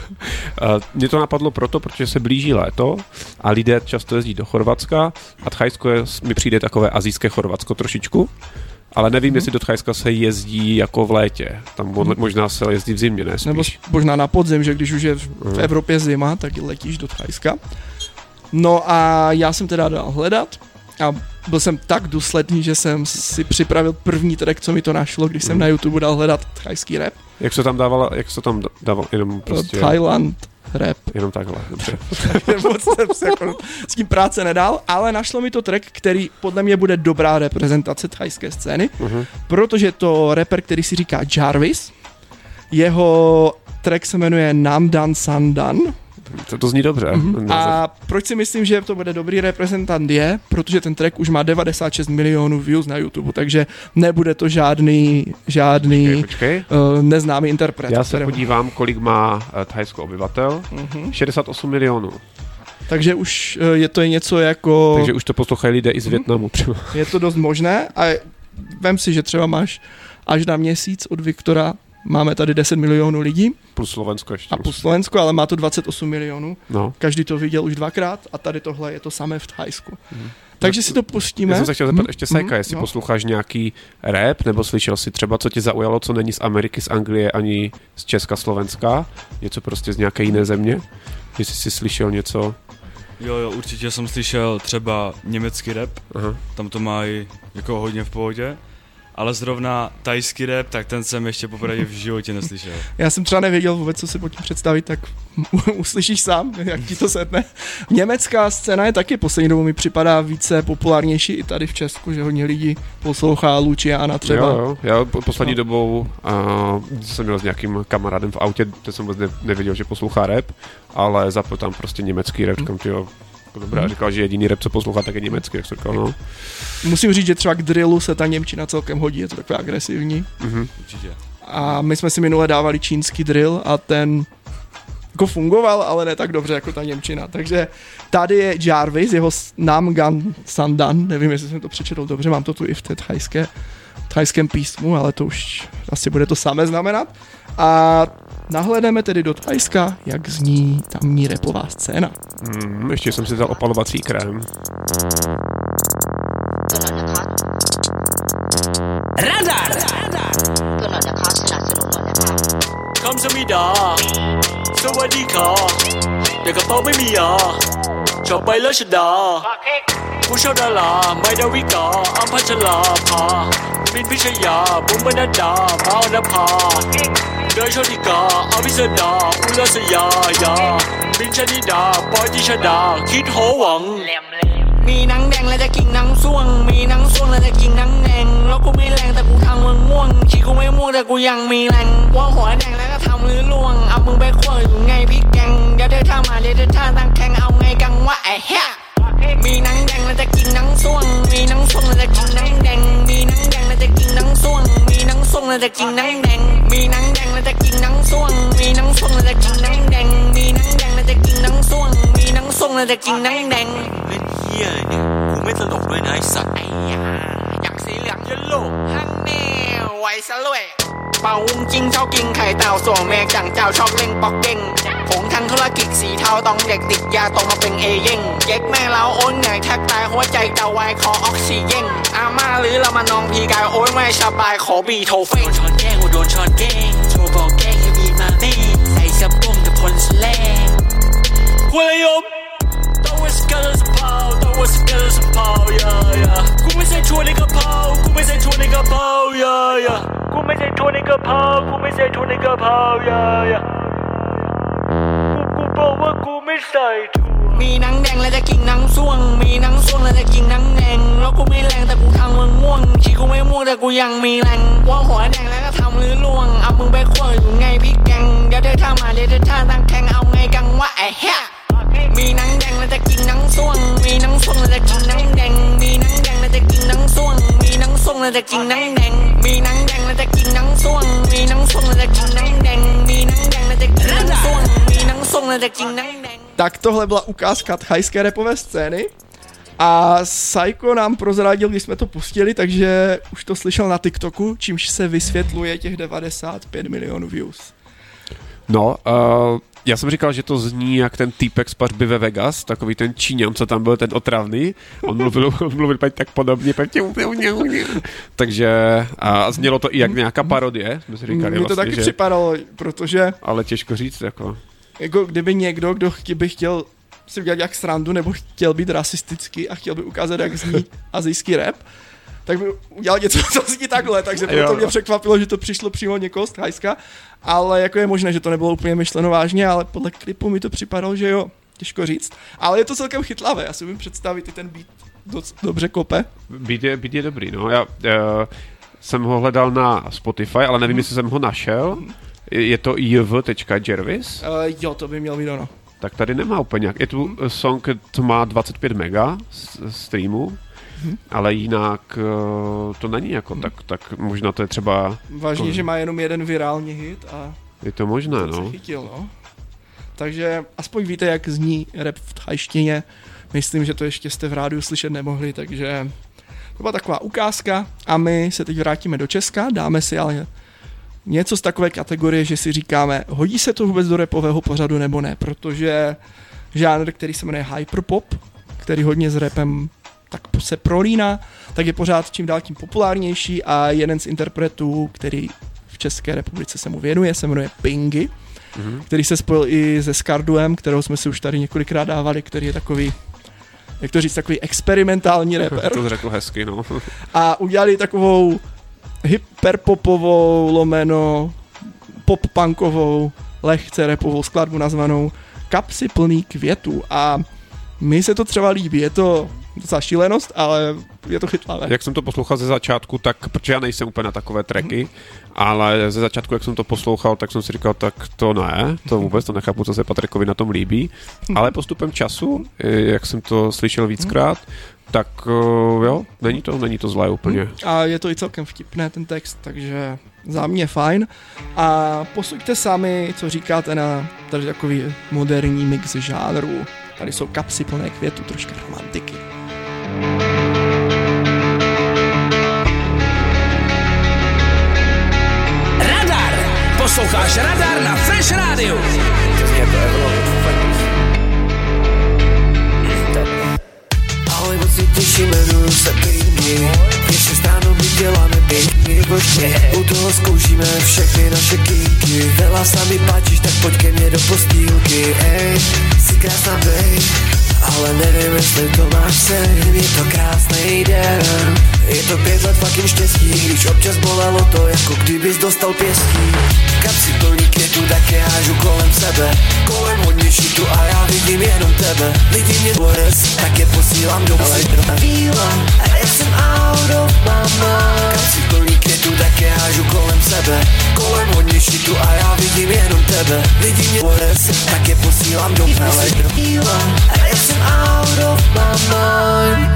Mě to napadlo proto, protože se blíží léto a lidé často jezdí do Chorvatska a Thajsko mi přijde takové asijské Chorvatsko trošičku. Ale nevím, jestli do Thajska se jezdí jako v létě. Tam možná se jezdí v zimě, ne spíš. Nebo možná na podzim, že když už je v Evropě zima, tak letíš do Thajska. No a já jsem teda dal hledat a byl jsem tak důsledný, že jsem si připravil první track, co mi to našlo, když jsem na YouTube dal hledat thajský rap. Jak se tam dával jenom prostě... Thailand rap. Jenom takhle, dobře. Moc jsem se jako s tím práce nedal, ale našlo mi to track, který podle mě bude dobrá reprezentace thajské scény, protože to rapper, který si říká Jarvis, jeho track se jmenuje Namdan Sandan. To zní dobře. A proč si myslím, že to bude dobrý reprezentant je, protože ten track už má 96 milionů views na YouTube, takže nebude to žádný neznámý interpret. Já se podívám, kolik má Thajsko obyvatel. 68 milionů. Takže už je to něco jako... Takže už to poslouchají lidé i z Vietnamu. Je to dost možné a vem si, že třeba máš až na měsíc od Viktora. Máme tady 10 milionů lidí. Plus Slovensko ještě. A plus Slovensko, ale má to 28 milionů. No. Každý to viděl už dvakrát a tady tohle je to samé v Thajsku. Takže si to pustíme. Já jsem se chtěl zeptat ještě Sajka, jestli posloucháš nějaký rap, nebo slyšel si třeba, co tě zaujalo, co není z Ameriky, z Anglie, ani z Česka, Slovenska, něco prostě z nějaké jiné země, jestli jsi slyšel něco. Jo, určitě jsem slyšel třeba německý rap, tam to mají jako hodně v pohodě. Ale zrovna thajský rap, tak ten jsem ještě poprvé v životě neslyšel. Já jsem třeba nevěděl vůbec, co si pod tím představit, tak uslyšíš sám, jak ti to setne. Německá scéna je taky poslední dobou mi připadá více populárnější i tady v Česku, že hodně lidí poslouchá Luciana třeba. Jo. Já poslední dobou jsem měl s nějakým kamarádem v autě, teď jsem vůbec nevěděl, že poslouchá rap, ale zapl tam prostě německý rap, říkám, tyjo, dobrá, říkal, že jediný rap, co poslouchá, tak je německý, jak jsem říkal, no. Musím říct, že třeba k drillu se ta němčina celkem hodí, je to takové agresivní. Určitě. A my jsme si minule dávali čínský drill a ten jako fungoval, ale ne tak dobře jako ta němčina. Takže tady je Jarvis, jeho Namdan Sandan, nevím, jestli jsem to přečetl dobře, mám to tu i v té thajském písmu, ale to už asi bude to samé znamenat. A nahlédneme tedy do Thajska, jak zní tamní rapová scéna. Ještě jsem si vzal opalovací krém. Radar! คำสมิดาสวัสดีค่ะแต่กระเป๋าไม่มีชอบไปแล้วชดาผู้ชอบดาราไม่ดาวิกาอัมพัชราภาบินพิชยาบุ๋มบรรดามาอนภาเดยโชติกาอภิสดาอุลสยายาบินชนิดาปอยติชดาคิดโหวังมีหนังแดงแล้วจะกินหนังส้วงมีหนังส้วงแล้วจะกินหนังแดงแล้วกูไม่แรงแต่กูทำมึงม่วงชีกูไม่ม่วงแต่กูยังมีแรงว่าหัวแดงแล้วก็ทำมือล่วงเอามึงไปคั่วอยู่ไงพี่แกงเดี๋ยวเธอท่ามาเดี๋ยวเธอท่าตั้งแข่งเอาไงกังวะไอ้เหี้ยมีหนังแดงแล้วจะกินหนังส้วงมีหนังส้วงแล้วจะกินหนังแดงมีหนังแดงแล้วจะกินหนังส้วงมีหนังส้วงแล้วจะกินหนังแดงมีหนังแดงแล้วจะกินหนังส้วงมีหนังส้วงแล้วจะกินหนังแดงมีหนังแดงแล้วจะกินหนังส้วงมีหนังส้วงแล้วจะกินหนังแดงเล่นเหี้ยอะไรเนี่ยกูไม่ตลกด้วยนะไอ้สัตว์ไอ้ยาอยากสีเหลืองยันโลฮันแน่ไว้ซะเลยเป่าวุ้งจิ้งชอบกินไข่เต่าส่วนแม่จังเจ้าชอบเล่นป๊อกเด้งผงทั้งธุรกิจสีเทาต้องเด็กติดยาตรงมาเป็นเอเย่งเย็กแม่เราโอนเหนื่อยแทบตายหัวใจเต่าไวคอออกซิเจนอาม่าหรือเรามานองพีกายโอ้ยไม่สบายขอบีโทเฟ่โดนช้อนแกล้งโดนช้อนแกล้งโชว์บอกแกล้งให้มีมาเม่ใส่สะโพกแต่พลสแลงคุยยมตัวสกัดสปาวตัวสกัดสปาวยากูไม่ใช่ชวนในกระเพรากูไม่ใช่ชวนในกระเพรายากูไม่ใช่ชวนในกระเพรากูไม่ใช่ชวน nigga power, yeah. กูบอกว่ากูไม่ใส่ถุงมีหนังแดงและจะกินหนังส่วงมีหนังส่วงและจะกินหนังแดงแล้วกูไม่แรงแต่กูทำมึงง่วงชีกูไม่ม่วงแต่กูยังมีแรงว่าหัวแดงแล้วก็ทำลื้อล่วงเอามึงไปคั่วอยู่ไงพี่แกงเดี๋ยวเธอท่ามาเดี๋ยวเธอท่าตั้งแข่งเอาไงกังวะไอ้เหี้ยมีหนังแดงและจะกินหนังส่วงมีหนังส่วงและจะกินหนังแดงมีหนังแดงและจะกินหนังส่วงมีหนังส่วงและจะกินหนังแดงมีหนังแดงและจะกินหนังส่วงมีหนังส่วงและจะกินหนังแดงมีหนังแดงและจะกินหนังส่วงมีหนังส่วงและจะกินหนังแดง Tak tohle byla ukázka thajské rapové scény a Psycho nám prozradil, když jsme to pustili, takže už to slyšel na TikToku, čímž se vysvětluje těch 95 milionů views. No, já jsem říkal, že to zní jak ten týpek z Pařby ve Vegas, takový ten Číňan, co tam byl, ten otravný. On mluvil tak podobně. Takže a znělo to i jak nějaká parodie. Jsme si říkali, mi to taky připadalo, protože... Ale těžko říct, jako kdyby někdo, kdo by chtěl si udělat jak srandu, nebo chtěl být rasistický a chtěl by ukázat, jak zní asijský rap, tak by udělal něco, co zní takhle, takže proto mě překvapilo, že to přišlo přímo někoho z Thajska, ale jako je možné, že to nebylo úplně myšleno vážně, ale podle klipu mi to připadalo, že jo, těžko říct, ale je to celkem chytlavé, já si umím představit, i ten beat dobře kope. Beat je dobrý, no, já jsem ho hledal na Spotify, ale nevím, jestli jsem ho našel. Je to jv.jervis? Jo, to by měl být ono. Tak tady nemá úplně nějak. Je tu song, to má 25 mega streamu, ale jinak to není jako tak možná to je třeba... Vážně, že má jenom jeden virální hit a... Je to možné, no. Se chytil, no. Takže aspoň víte, jak zní rap v thajštině. Myslím, že to ještě jste v rádiu slyšet nemohli, takže to byla taková ukázka a my se teď vrátíme do Česka, dáme si ale něco z takové kategorie, že si říkáme, hodí se to vůbec do rapového pořadu nebo ne, protože žánr, který se jmenuje hyperpop, který hodně s rapem tak se prolíná, tak je pořád čím dál tím populárnější a jeden z interpretů, který v České republice se mu věnuje, se jmenuje Pingy, který se spojil i se Skarduem, kterého jsme si už tady několikrát dávali, který je takový, jak to říct, takový experimentální rapper. To řekl hezky, no. A udělali takovou hyperpopovou, lomeno pop-punkovou, lehce rapovou skladbu nazvanou Kapsy plný květů a mi se to třeba líbí, je to docela šílenost, ale je to chytlavé. Jak jsem to poslouchal ze začátku, tak, protože já nejsem úplně na takové tracky, ale ze začátku, jak jsem to poslouchal, tak jsem si říkal, tak to ne, to vůbec to nechápu, co se Patrikovi na tom líbí, ale postupem času, jak jsem to slyšel víckrát, tak jo, není to zlé úplně. A je to i celkem vtipné ten text, takže za mě fajn. A posuďte sami, co říkáte na tady takový moderní mix žánrů. Tady jsou kapsy plné květů, troška romantiky. Radar! Posloucháš Radar na Fresh Radio. Ahoj, moc si těším, jmenuju se Pingy. Ještě ráno my děláme pěkný božně. U toho zkoušíme všechny naše kinky. Vela sami páčíš, tak pojď ke mně do postýlky. Ej, jsi krásná bej, ale nevím, jestli to máš sen. Je to krásný den, je to 5 let fucking štěstí. Když občas bolelo to, jako kdybys dostal pěstí. Kapsy plný květů, tak je hážu kolem sebe. Kolem hodně šitu a já vidím jenom tebe. Lidi mě dores, tak je posílám do víla. A já jsem out of my mind. Kapsy plný květů, tak je hážu kolem sebe. Kolem hodně šitu a já vidím jenom tebe. Lidi mě dores, tak je posílám do víla. A já jsem out of my mind.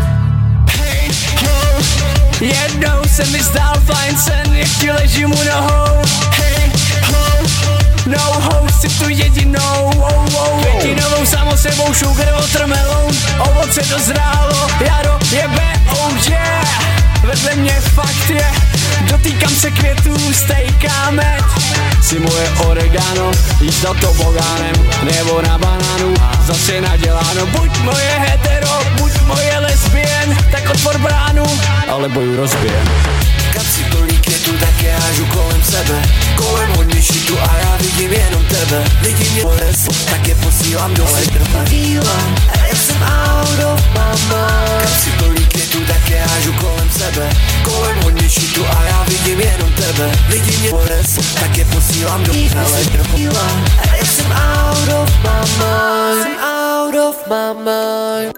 Jednou se mi zdál fajn sen, jak ti ležím u nohou. Hey, ho, no host, si tu jedinou, jedinovou samo sebou sugar watermelon. Ovoce dozrálo, jaro jebe, oh yeah. Vedle mě fakt je, dotýkám se květů, stejkáme. Si moje oregano, jíst na tobogánem, nebo na banánu, zase naděláno. Buď moje hetero, buď moje lesbien, tak otvor bránu, ale boju rozbijem. Kapsy plný květů, tak je hážu kolem sebe. Kolem hodně šitu a já vidím jenom tebe. Lidi mě dores, tak je posílám do víla. A já jsem out of my mind. Kapsy plný květů, tak je hážu kolem sebe. Kolem hodně šitu a já vidím jenom tebe. sebe. Lidi mě pones, tak je posílám do hele do a jsem out of my mind. Jsem out of my mind.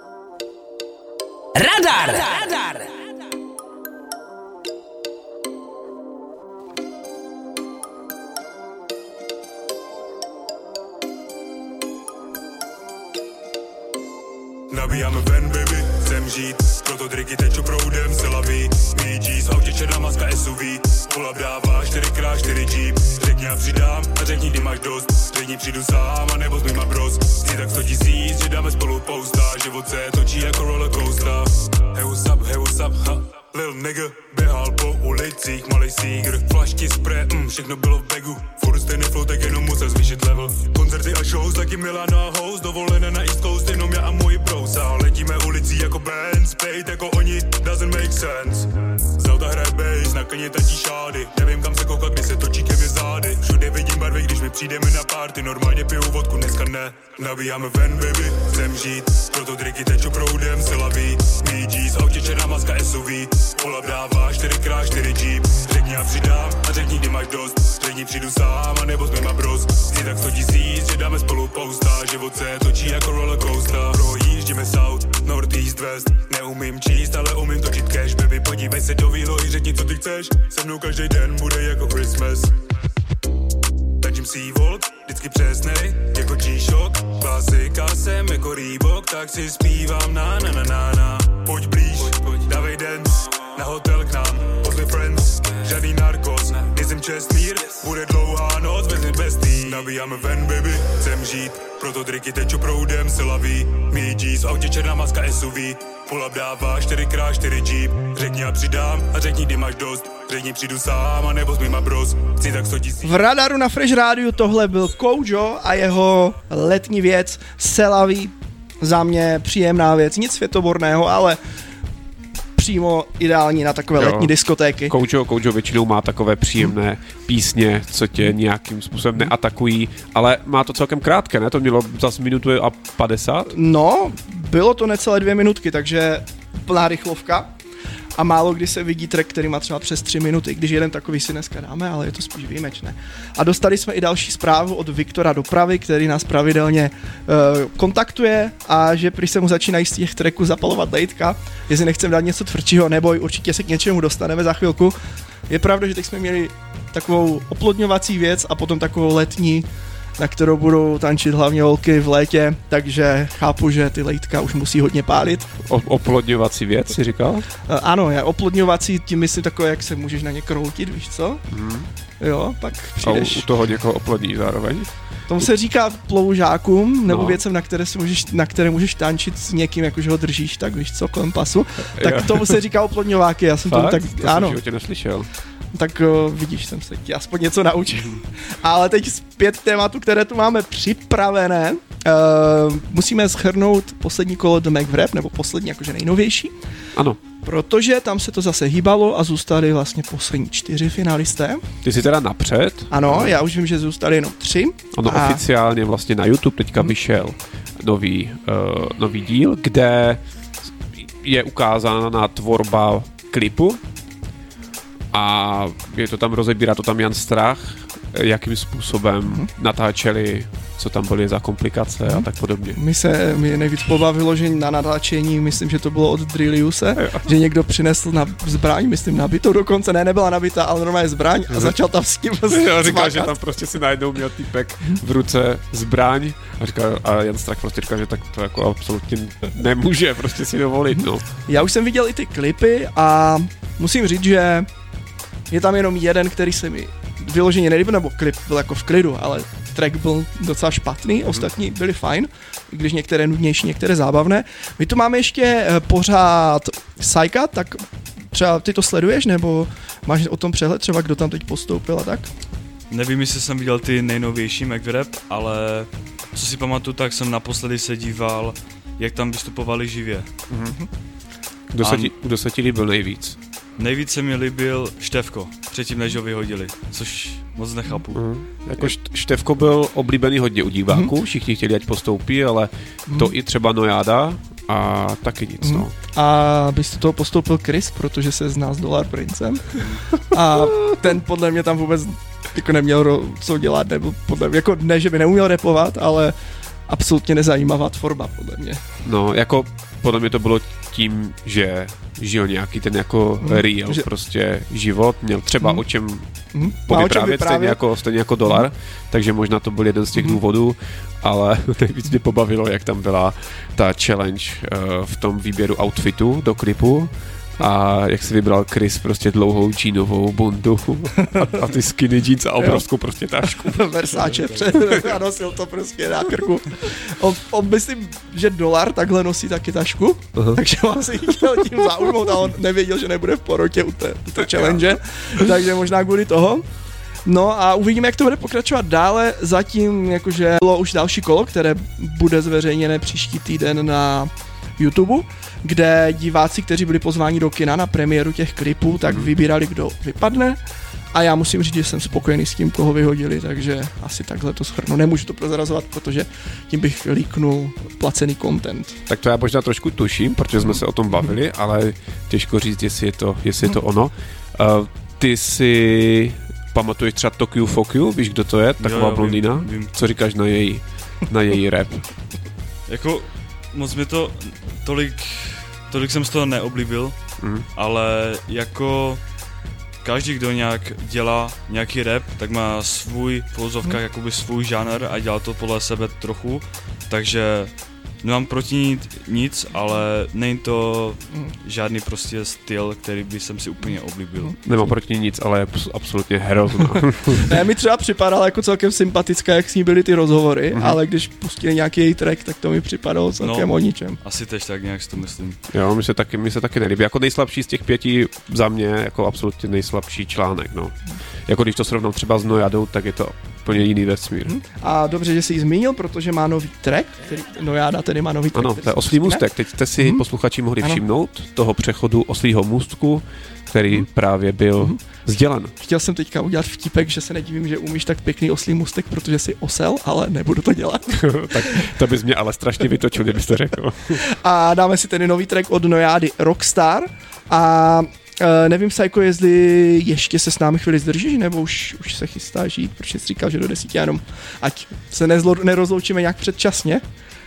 Radar. Nabíjáme ven, baby, chcem žít, proto triky teču proudem, se laví. Míčí z autě černá maska SUV, pull-up dává 4x4 Jeep. Řekni a přidám a řekni, kdy máš dost. Řekni, přijdu sám a nebo s mýma bros. Chci tak 100 000, že dáme spolu pousta. Život se točí jako rollercoaster. Hey what's up, ha. Lil nigga, běhal po ulicích, malej sígr. Flašky, spray, všechno bylo v bagu. Furt stejný flow, tak jenom musel zvýšit level. Koncerty a shows, taky Milano a host. Dovolené na East Coast, jenom já a můj bros. A letíme ulicí jako band, spejt jako oni, doesn't make sense. Z auta hraje bass, na klně tatí šády. Nevím kam se koukat, když se točí ke mě zády. Všude vidím barvy, když my přijdeme na party. Normálně piju vodku, dneska ne. Nabíjáme ven, baby, chcem žít. Proto triky teču proudem, se laví. Míčí z autě černá maska SUV. Pull-up dává 4x4 Jeep. Řekni a přidám a řekni, kdy máš dost. Řekni, přijdu sám a nebo s mýma bros. Chci tak 100 000, že dáme spolu pousta. Život se točí jako rollercoaster. Projíždíme south, north, east, west. Neumím číst, ale umím točit cash. Baby, podívej se do výlohy, řekni, co ty chceš. Se mnou každý den bude jako Christmas. Tačím Seawold, vždycky přesnej, jako G-Shock. Klasika jsem jako Reebok, tak si zpívám na. Pojď blíž, dávej dance, na hotel k nám, pozvi friends. Žádný narkos, nejsem čestmír, bude dlouhá noc, vezmi bestý. Nabíjáme ven, baby, chcem žít, proto triky teču proudem, se laví. Míčí z autě černá maska SUV, pull-up dává 4x4 Jeep. Řekni a přidám a řekni, kdy máš dost. Řekni, přijdu sám a nebo s mýma bros. Chci tak 100 000. V Radaru na Fresh Rádiu tohle byl Kojo a jeho letní věc Selaví. Za mě příjemná věc, nic světoborného, ale přímo ideální na takové letní diskotéky. Kojo většinou má takové příjemné písně, co tě nějakým způsobem neatakují, ale má to celkem krátké, ne? To mělo zase minutu a 50? No, bylo to necelé 2 minutky, takže plná rychlovka. A málo kdy se vidí track, který má třeba přes 3 minuty, když jeden takový si dneska dáme, ale je to spíš výjimečné. A dostali jsme i další zprávu od Viktora Dopravy, který nás pravidelně kontaktuje a že prý se mu začínají z těch tracků zapalovat lejtka, jestli nechcem dát něco tvrdšího, neboj, určitě se k něčemu dostaneme za chvilku. Je pravda, že teď jsme měli takovou oplodňovací věc a potom takovou letní, na kterou budou tančit hlavně holky v létě, takže chápu, že ty lejtka už musí hodně pálit. Oplodňovací věc, jsi říkal? Ano, oplodňovací, tím myslím takové, jak se můžeš na ně kroutit, víš co? Jo, pak přijdeš. A u toho někoho oplodní zároveň? Tomu se říká ploužákům, nebo věcem, na které můžeš tančit s někým, jakože ho držíš, tak víš co, kolem pasu. Tak tomu se říká oplodňováky, já jsem Fakt? tomu tak, to ano. jsem v životě neslyšel. Tak vidíš, jsem se ti aspoň něco naučil. Ale teď zpět tématu, které tu máme připravené. Musíme shrnout poslední kolo The Mac Rap, nebo poslední, jakože nejnovější. Ano. Protože tam se to zase hýbalo a zůstali vlastně poslední 4 finalisté. Ty jsi teda napřed. Ano, já už vím, že zůstali jenom 3. Ono oficiálně vlastně na YouTube teďka vyšel nový díl, kde je ukázána tvorba klipu a je to tam, rozebírá to tam Jan Strach, jakým způsobem natáčeli, co tam byly za komplikace a tak podobně. Mě nejvíc pobavilo, že na natáčení, myslím, že to bylo od Drilliuse, že někdo přinesl zbraň, myslím nabitou dokonce, nebyla nabitá, ale normálně zbraň a začal tam s tím říkal, že tam prostě si najednou měl týpek v ruce zbraň a Jan Strach prostě říkal, že tak to jako absolutně nemůže prostě si dovolit, no. Já už jsem viděl i ty klipy a musím říct, že je tam jenom jeden, který se mi vyloženě nelíbil, nebo klip byl jako v klidu, ale track byl docela špatný, ostatní byly fajn, i když některé nudnější, některé zábavné. My tu máme ještě pořád Psyka, tak třeba ty to sleduješ, nebo máš o tom přehled, třeba kdo tam teď postoupil a tak? Nevím, jestli jsem viděl ty nejnovější McRap, ale co si pamatuju, tak jsem naposledy se díval, jak tam vystupovali živě. Kdo se ti líbil nejvíc? Nejvíc se mi líbil Štefko, předtím než ho vyhodili, což moc nechápu. Jako Štefko byl oblíbený hodně u diváků, všichni chtěli, ať postoupí, ale to i třeba Nojáda A taky nic, no. A bys do toho postoupil Chris, protože se zná s Dollar Princem. A ten podle mě tam vůbec jako neměl co dělat, nebo podle mě, jako ne, že by neuměl rapovat, ale absolutně nezajímavá tvorba, podle mě. No, jako podle mě to bylo tím, že žil nějaký ten jako real prostě život, měl třeba o čem povyprávět, stejně jako Dolar, takže možná to byl jeden z těch důvodů, ale nejvíc mě pobavilo, jak tam byla ta challenge v tom výběru outfitu do klipu a jak si vybral Chris prostě dlouhou džínovou bundu a ty skinny jeans a obrovskou prostě tašku. Versace a nosil to prostě na krku. On myslím, že Dolar takhle nosí taky tašku, takže on si chtěl tím zaujmout a on nevěděl, že nebude v porotě u té challenge, takže možná kvůli toho. No a uvidíme, jak to bude pokračovat dále. Zatím jakože bylo už další kolo, které bude zveřejněné příští týden na YouTube, kde diváci, kteří byli pozváni do kina na premiéru těch klipů, tak vybírali, kdo vypadne. A já musím říct, že jsem spokojený s tím, koho vyhodili, takže asi takhle to shrnu. Nemůžu to prozrazovat, protože tím bych líknul placený content. Tak to já možná trošku tuším, protože jsme se o tom bavili, ale těžko říct, jestli je to ono. Ty si pamatuješ třeba Tokyo Fuck You, víš, kdo to je? Taková blondýna? Vím. Co říkáš na její rap? Jako moc mi to tolik jsem z toho neoblíbil, ale jako každý, kdo nějak dělá nějaký rap, tak má svůj v uvozovkách jakoby svůj žánr a dělá to podle sebe trochu, takže nemám proti nic, ale není to žádný prostě styl, který by jsem si úplně oblíbil. Nemám proti nic, ale je absolutně hrozná. Ne, mi třeba připadala jako celkem sympatická, jak s ní byly ty rozhovory, ale když pustili nějaký její track, tak to mi připadalo celkem o ničem. Asi tež tak nějak si to myslím. Jo, mi se taky nelíbí. Jako nejslabší z těch 5 za mě, jako absolutně nejslabší článek, no. Jako když to srovnám třeba s Nojadou, tak je to úplně jiný vesmír. A dobře, že jsi ji zmínil, protože má nový track, který Nojada tedy má nový track. Ano, to je Oslý můstek. Teď jste si posluchači mohli všimnout toho přechodu Oslýho můstku, který právě byl sdělen. Chtěl jsem teďka udělat vtipek, že se nedivím, že umíš tak pěkný oslý můstek, protože jsi osel, ale nebudu to dělat. Tak to bys mě ale strašně vytočil, kdybyste řekl. A dáme si tedy nový track od Nojady Rockstar a nevím, Psycho, jestli ještě se s námi chvíli zdržíš, nebo už se chystáš jít, protože jsi říkal, že do 10 jenom, ať se nerozloučíme nějak předčasně.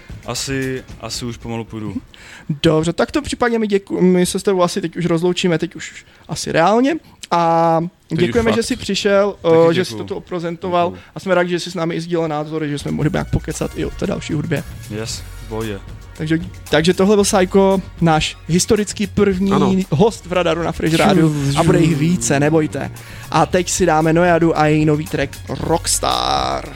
Asi už pomalu půjdu. Dobře, tak to případně my se s tebou asi teď už rozloučíme, teď už asi reálně. A děkujeme, že jsi přišel, že jsi to tu oprezentoval a jsme rádi, že jsi s námi i sdílel názory, že jsme mohli nějak pokecat i o té další hudbě. Yes, boje. Takže tohle byl Psycho, náš historický první host v Radaru na Fresh Rádiu a bude jich více, nebojte. A teď si dáme Nojadu a její nový track Rockstar.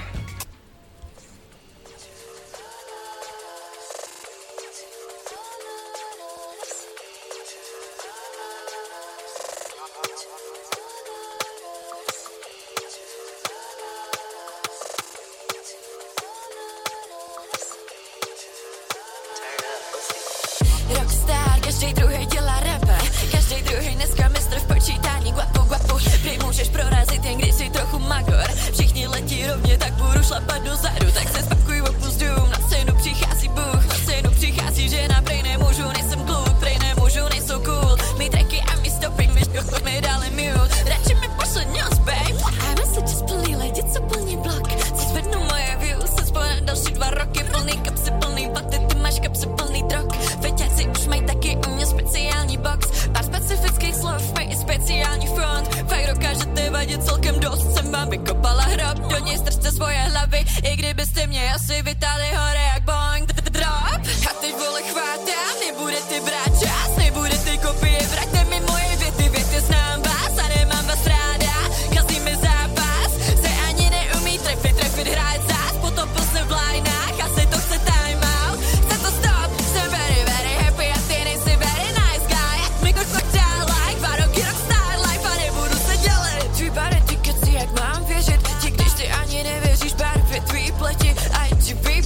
Rockstar, každý druhý dělá rapa, každý druhý dneska mistr v počítání, guapo, prý můžeš prorazit jen když si trochu magor, všichni letí rovně, tak budu šlapat dozadu, tak se spakuj, opust dům, na scénu přichází Bůh, na scénu přichází žena, prej nemůžu, nejsem kluk, prej nemůžu, nejsou cool, mý tracky a mý stopping, mi dali mute, radši mi pošle news, babe, a messages plný lidi, co plní blok, co zvednu moje views, se spojené další 2 roky, plný kapsy, plný vaty, ty máš kapsy plný drog, feťáci už mají taky u mě speciální box, pár specifických slov, mají i speciální front, fakt dokážete vadit celkem dost, jsem vám vykopala hrob, do něj strčte svoje hlavy, i kdybyste mě asi vytáhli hore jak boing, drop, a teď vole chvátám, nebudete brát čas, nebudete kopie, vraťte mi moje věty znám vás a nemám vás ráda, kazí mi zápas, se ani neumí trefit hrát zás, potom posne v lineách, asi to chce time out, chce to stop, jsem very happy a ty nejsi very nice guy, jak mi koktál like, 2 roky rockstar life a nebudu se dělit, tvý body, ty keci, jak mám věřit, ti když ty ani nevěříš, barvě tvý pleti, a ti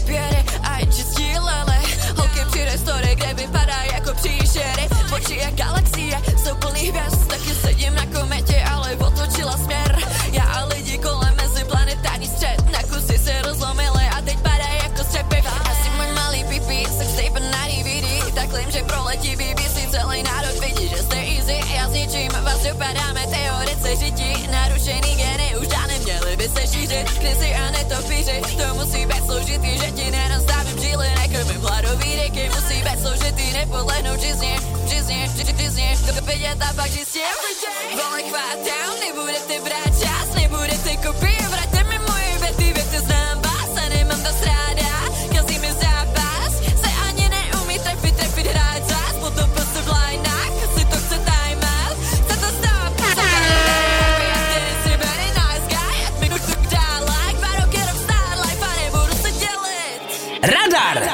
papíře. To musí být složitý, že ti nenastavím žíly, nekrmím hladový rieky. Musí být složitý, nepodlehnout žizně, vidět a pak čistě everyday. Vole chvátám, nebudete brát čas, nebudete kopii, vraťte mi moje věty znám vás a nemám to stráda. Každý mi zápas, se ani neumí trefit hrát zás, potom prostě v lineách, si to chce time out, chce to stop. Já tedy si very nice guy, ať mi kutuk dál like, 2 roky rockstar life a nebudu se dělit. Radar!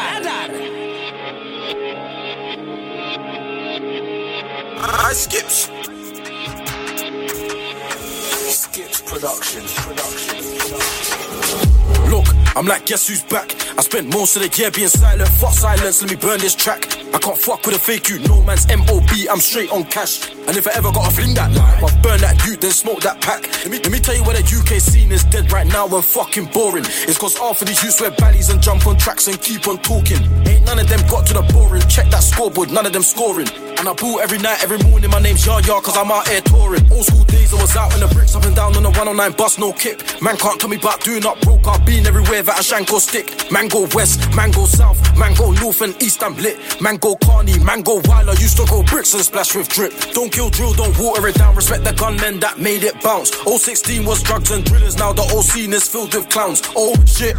Skips production. Look, I'm like, guess who's back? I spent most of the year being silent. Fuck silence, let me burn this track. I can't fuck with a fake you, no man's M.O.B. I'm straight on cash. And if I ever gotta fling that line, I'll burn that youth, then smoke that pack. Let me tell you why the UK scene is dead right now and fucking boring. It's cause half of these youths wear baddies and jump on tracks and keep on talking. Ain't none of them got to the boring. Check that scoreboard, none of them scoring. And I boo every night, every morning, my name's Yaya, cause I'm out here touring. Old school days, I was out in the bricks, up and down on the 109 bus, no kip. Man can't tell me about doing up broke, I've been everywhere that I shank or stick. Man go west, man go south, man go north and east, I'm lit. Man go Carney, man go wild, I used to go bricks and splash with drip. Don't kill drill, don't water it down, respect the gunmen that made it bounce. 016 was drugs and drillers, now the whole scene is filled with clowns. Oh shit.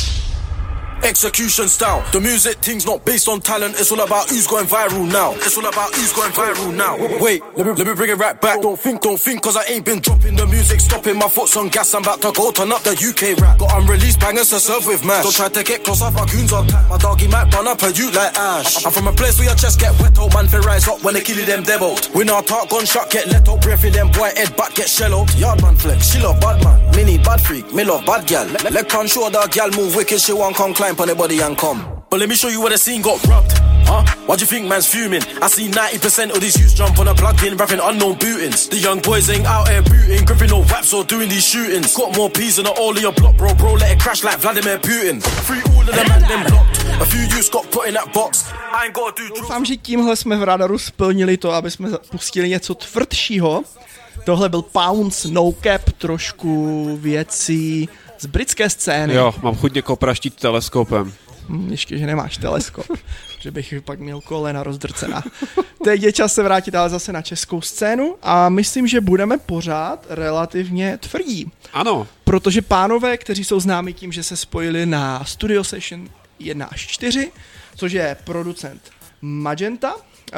Execution style. The music thing's not based on talent. It's all about who's going viral now. It's all about who's going viral now. Wait, let me bring it right back. Don't think, cause I ain't been dropping the music, stopping my foot's on gas. I'm about to go turn up the UK rap. Got unreleased bangers to serve with mash. Don't try to get close up, my goons on tap. My doggy might run up a you like ash. I'm from a place where your chest get wet out, man, fi rise up when they kill them devils. When our talk gunshot get let out, breath in them boy head back get shell out. Yard man flex, she love bad man. Me need bad freak, me love bad gal. Leg on show the gal move wicked, she won't come climb on the body and come. But let me show you where the scene got rubbed. Huh? Why do you think man's fuming? I see 90% of these youths jump on a plug-in, rapping unknown bootings. The young boys ain't out here booting, gripping no raps or doing these shootings. Got more peas than all of your block, bro, let it crash like Vladimir Putin. Free all of them and them blocked. A few youths got put in that box. I ain't gotta do. Doufám, že tímhle jsme v Radaru splnili to, aby jsme pustili něco tvrdšího. Tohle byl Pounce, No Cap, trošku věcí z britské scény. Jo, mám chuť někoho praštit teleskopem. Ještě, že nemáš teleskop, že bych pak měl kolena rozdrcená. Teď je čas se vrátit ale zase na českou scénu a myslím, že budeme pořád relativně tvrdí. Ano. Protože pánové, kteří jsou známí tím, že se spojili na Studio Session 1 až 4, což je producent Magenta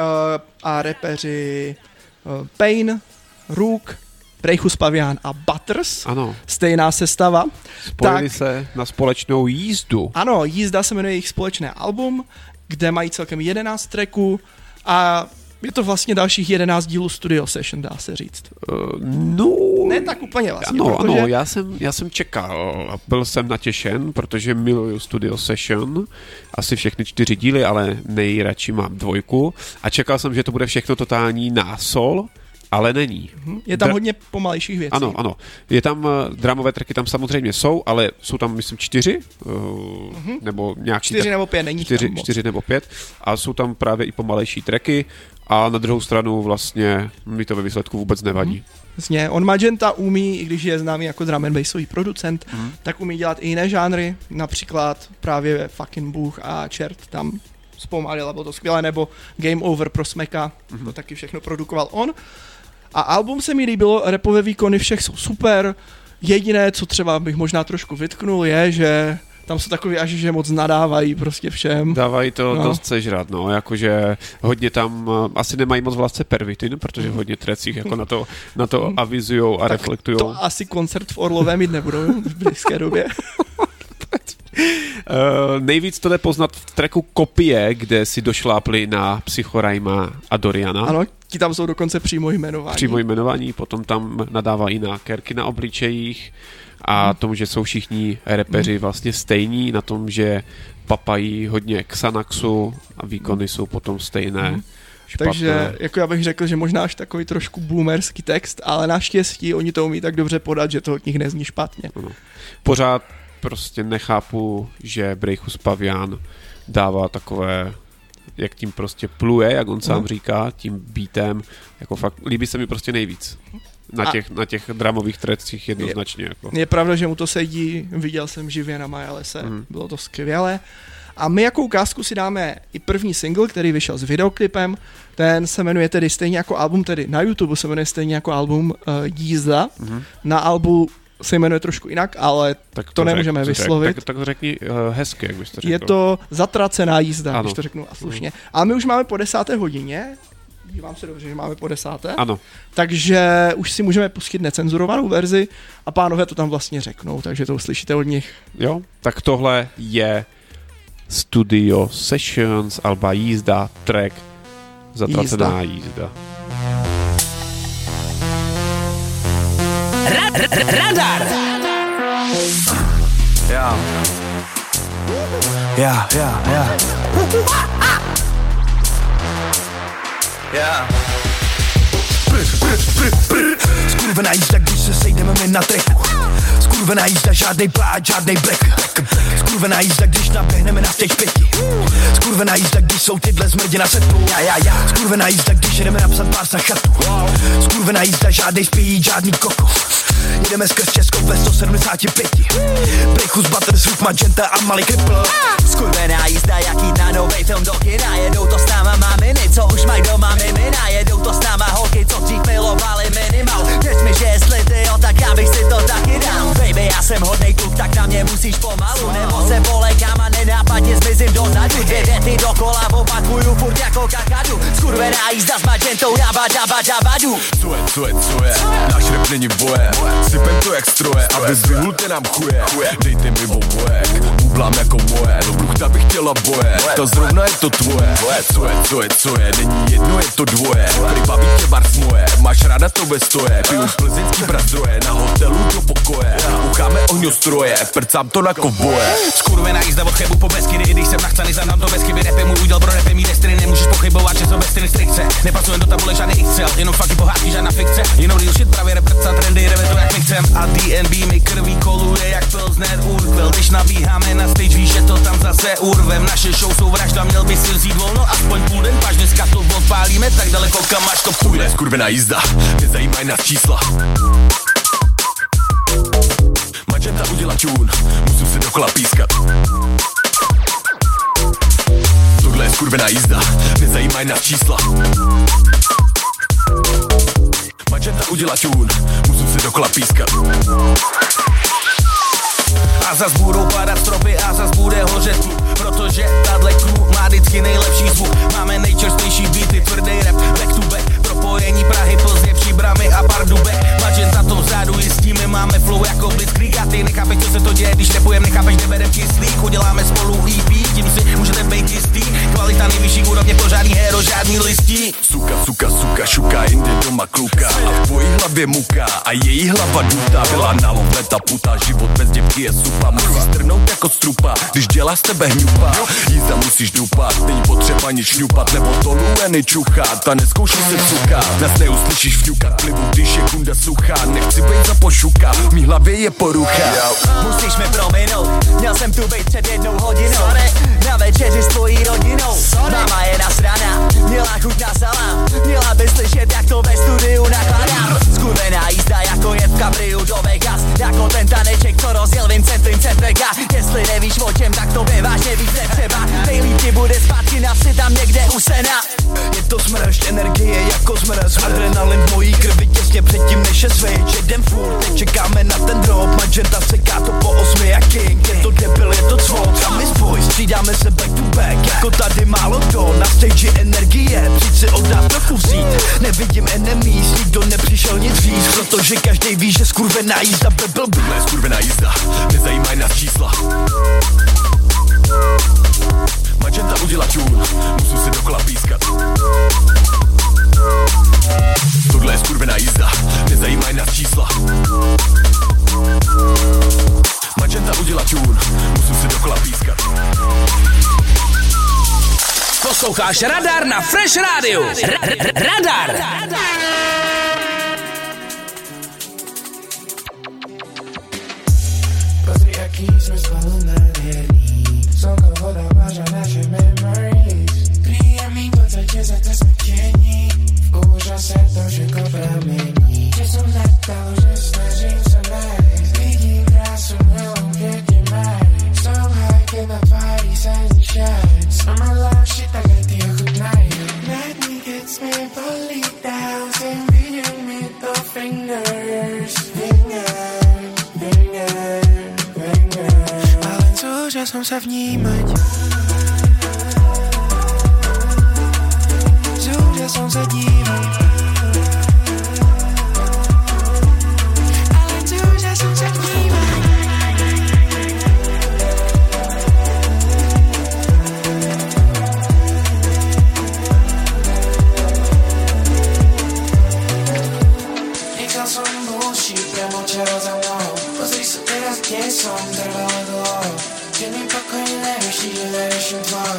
a rapeři Pain, Rook, Brejchus Pavián a Butters. Ano. Stejná sestava. Spojili se na společnou jízdu. Ano, Jízda se jmenuje jejich společné album, kde mají celkem 11 tracků a je to vlastně dalších 11 dílů Studio Session, dá se říct. No... Ne tak úplně vlastně, ano, protože... Ano, já jsem čekal a byl jsem natěšen, protože miluju Studio Session, asi všechny 4 díly, ale nejradši mám 2 a čekal jsem, že to bude všechno totální násol, ale není. Je tam hodně pomalejších věcí. Ano. Je tam, dramové tracky tam samozřejmě jsou, ale jsou tam, myslím, 4, nebo nějaký... 4 nebo 5, není 4 nebo 5 a jsou tam právě i pomalejší tracky a na druhou stranu vlastně mi to ve výsledku vůbec nevadí. Vlastně, on Magenta umí, i když je známý jako drum and bassový producent, tak umí dělat i jiné žánry, například právě Fucking Bůh a Čert tam zpomalil, a bylo to skvělé, nebo Game Over pro Smeka, to taky všechno produkoval on. A album se mi líbilo, rapové výkony všech jsou super, jediné, co třeba bych možná trošku vytknul, je, že tam jsou takový až, že moc nadávají prostě všem. Dávají to dost sežrat, jakože hodně tam, asi nemají moc v lásce pervitin, protože v hodně trecích jako na to avizujou a reflektujou. To asi koncert v Orlové mít nebudou v blízké době. Nejvíc to jde poznat v tracku Kopie, kde si došlápli na Psychorajma a Doriana. Ano, ti tam jsou dokonce přímo jmenování. Potom tam nadávají na kerky na obličejích a tomu, že jsou všichni repeři vlastně stejní, na tom, že papají hodně Xanaxu a výkony jsou potom stejné. Špatné. Takže jako já bych řekl, že možná až takový trošku boomerský text, ale naštěstí oni to umí tak dobře podat, že to od nich nezní špatně. Ano. Pořád prostě nechápu, že Brejchus Pavián dává takové, jak tím prostě pluje, jak on sám říká, tím beatem, jako fakt líbí se mi prostě nejvíc. Na těch dramových trecích jednoznačně. Je pravda, že mu to sedí, viděl jsem živě na Majalese, bylo to skvělé. A my jako ukázku si dáme i první single, který vyšel s videoklipem, ten se jmenuje tedy stejně jako album, tedy na YouTube se jmenuje stejně jako album Jízda, na albu se jmenuje trošku jinak, ale tak to nemůžeme vyslovit. Tak to řekni hezky, jak byste řekl. Je to Zatracená jízda, ano. Když to řeknu a slušně. A my už máme po 10. hodině, dívám se dobře, že máme po 10. Ano. Takže už si můžeme pustit necenzurovanou verzi a pánové to tam vlastně řeknou, takže to uslyšíte od nich. Jo, tak tohle je Studio Sessions, alba Jízda, track Zatracená jízda. Radar! Já. Skurvená jízda, když se sejdeme my na treku. Skurvená jízda, žádnej pláč, žádnej black. Skurvená jízda, když naběhneme na stage 5. Skurvená jízda, když jsou tyhle zmrdi na setu. Skurvená jízda, když jedeme napsat pás na chatu. Skurvená jízda, žádnej spíjí, žádný koko. Jedeme skrz Česko ve 175. Prychus, Butterswood, Magenta a malý kripl. Skurvená jízda, jak jít na novej film do kina. Jedou to s náma maminy, co už mají doma mimina. Jedou to s náma holky, co dřív milovali minimal. Věř mi, že jestli ty jo, tak já bych si to taky dal. Baby, já jsem hodnej kluk, tak na mě musíš pomalu. Nebo se polekám a nenápadně zmizím dozadu. 2 věty dokola opakuju furt jako kakadu. Skurvená jízda s Magentou, dabadu. Co je, náš rap není boje. Sypem to jak stroje, aby zvyhnulte nám chuje. Dejte mi oboje, bublám jako moje. Do bruchta bych chtěla boje, to zrovna je to tvoje. Co je, není jedno, je to dvoje. Prý baví tě bars moje, máš ráda to bez stoje. Piju plzeňský brazdroje, na hotelu do pokoje. Ucháme ohňostroje, prcám to na kovboje. Skurvená jízda od Chebu po Beskydy, i když jsem nachcaný, znám to bez chyby. Repy můj úděl, pro repy mý destiny, nemůžeš pochybovat, že jsou bez styny strikce. Nepasujem do tabule žádný excel, jenom fucky pohádky, žádná fikce. Jenom real shit, právě reprca trendy, jdeme to jak my chcem. A DNB mi krví koluje jak Pilsner Urquell. Když nabíháme na stage, víš, že to tam zase urvem. Naše show jsou vražda, měl by si vzít volno aspoň půl den, paž dneska to odpálíme tak daleko, kam až to půjde. Skurvená jízda, nezajímaj nás čísla. Magenta udělá čún, musím se dokola pískat. Tohle je skurvená jízda, nezajímaj nás čísla. Magenta udělá čún, musím se dokola pískat. A zas budou padat stropy a zas bude hořet klub, protože tahle crew má vždycky nejlepší zvuk. Máme nejčerstvější beaty, tvrdý rap, back to back. Propojení Prahy, Plzně, Příbramy a Pardubek. Magenta to vzadu jistíme, máme flow jako Blitzkrieg. A ty nechápeš, co se to děje, když repujem, nechápeš, kde berem kyslík. Uděláme spolu EP, tím si můžete být jistý. Kvalita nejvyšší úrovně, to žádný hero, žádný listí. Suka, šuka, jinde doma kluka. A v tvojí hlavě muka a její hlava dutá. Byla na love ta puta, život bez děvky je supa. Musíš strhnout jako strupa, když dělá z tebe hňupa. Jízda musíš dupat, není potřeba nic šňupat. Nebo to lueny čuchat a neskoušej se cukat. Nás neuslyšíš vňukat plivu, když je kunda suchá. Nechci být za pošuka, v mý hlavě je porucha. Musíš mi prominout, měl jsem tu být před 1 hodinou. Sorry. Na večeři s tvojí rodinou. Sorry. Mama je nasraná, měla chuť na salám. Měla by slyšet, jak to ve studiu nakladám. Skurvená jízda jako jet v kabriu do Vegas. Jako ten taneček, co rozjel Vincent Vega. Jestli nevíš o čem, tak to vážně víc netřeba. Nejlíp ti bude zpátky na vsi tam někde u sena. Je to smršť energie jako zmrz. Adrenalin v mojí krvi těsně předtím než je switch. Jedem furt, teď čekáme na ten drop. Magenta seká to po 8 jak king. Je to debil, je to cvok. A my spoj, střídáme se back to back. Jako tady málo kdo, na stage energie. Přijď si oddát trochu vzít. Nevidím enemies, nikdo nepřišel nic říct. Protože každej ví, že skurvená jízda by byl blbý. Skurvená jízda, nezajímaj nás čísla. Magenta udělá čún, musím se dokola pískat. Tohle je skurvená jízda, nezajímaj nás čísla. Magenta udělá čún, musím se dokola pískat. Posloucháš Radar na Fresh Radio. Radar. Pozri, jaký jsme spolu nádherný. Slnko, voda, váža naše memories. Príjemný pocit, že to jsme tění. V úžase to všechno pramení. Že som Zúžil som sa vnímať. Zúžil som sa dívať. Ale zúžil som sa vnímať. Nechal som bullshit premočero za mnou. Pozri sa teraz, kde som trval dlho. Keď mi pokojne nevyšli, že nevyším tvoj.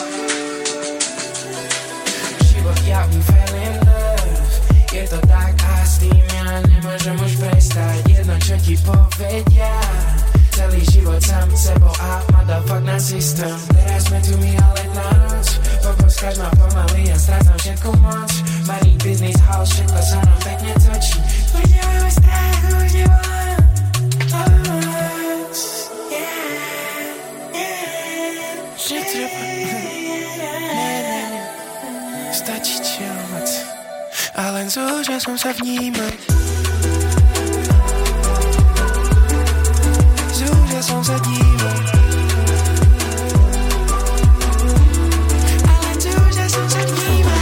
Život ja we fell in love. Je to tak a s tým ja nemôžem už prestať. Jedno čo ti povedia. Celý život sám sebou a motherfuck na systém. Teraz sme tu my ale na noc. Poboskaš ma pomaly a strácam všetku moc. Money, business, house, všetko sa nám pekne točí. Už nemáme strach, už nevolám. Že treba stačí čilvať. A len zúžil som sa vnímať. Zúžil som sa dívať. A len zúžil som sa vnímať.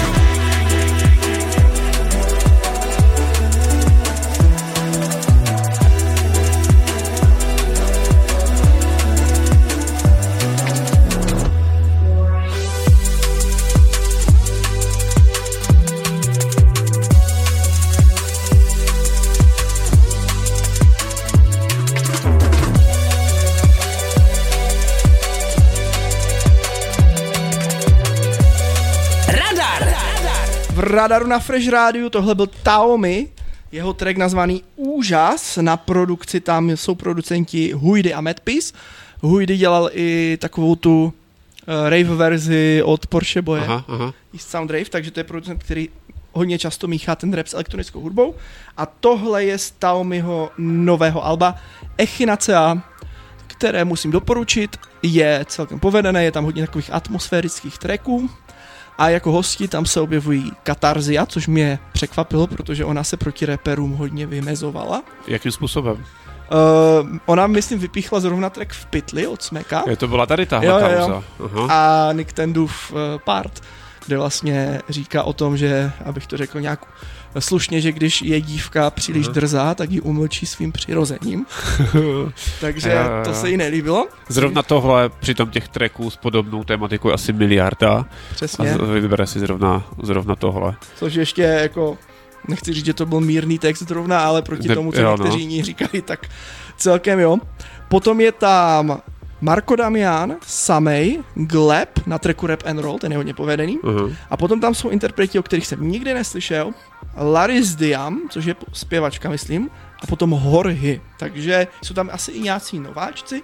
V Radaru na Fresh Rádiu tohle byl Taomi, jeho track nazvaný Úžas, na produkci tam jsou producenti Huidy a Madpiece. Huidy dělal i takovou tu rave verzi od Porsche Boye, East Sound Rave, takže to je producent, který hodně často míchá ten rap s elektronickou hudbou. A tohle je z Taomiho nového alba Echinacea, které musím doporučit, je celkem povedené, je tam hodně takových atmosférických tracků. A jako hosti tam se objevují Katarzia, což mě překvapilo, protože ona se proti raperům hodně vymezovala. Jakým způsobem? Ona, myslím, vypíchla zrovna track v pytli od Smeka. To byla tady tahle kauza. A Nick Tendův part, kde vlastně říká o tom, že, abych to řekl nějak slušně, že když je dívka příliš drzá, tak ji umlčí svým přirozením. Takže to se jí nelíbilo. Zrovna tohle, přitom těch tracků s podobnou tematikou asi miliarda. Přesně. A vybere si zrovna tohle. Což ještě jako, nechci říct, že to byl mírný text zrovna, ale proti tomu, co někteří jiní říkají, tak celkem jo. Potom je tam Marko Damian, Samej, Gleb na tracku Rap and Roll, ten je hodně povedený. A potom tam jsou interpreti, o kterých jsem nikdy neslyšel. Laris Diam, což je zpěvačka, myslím. A potom Horhy. Takže jsou tam asi i nějací nováčci.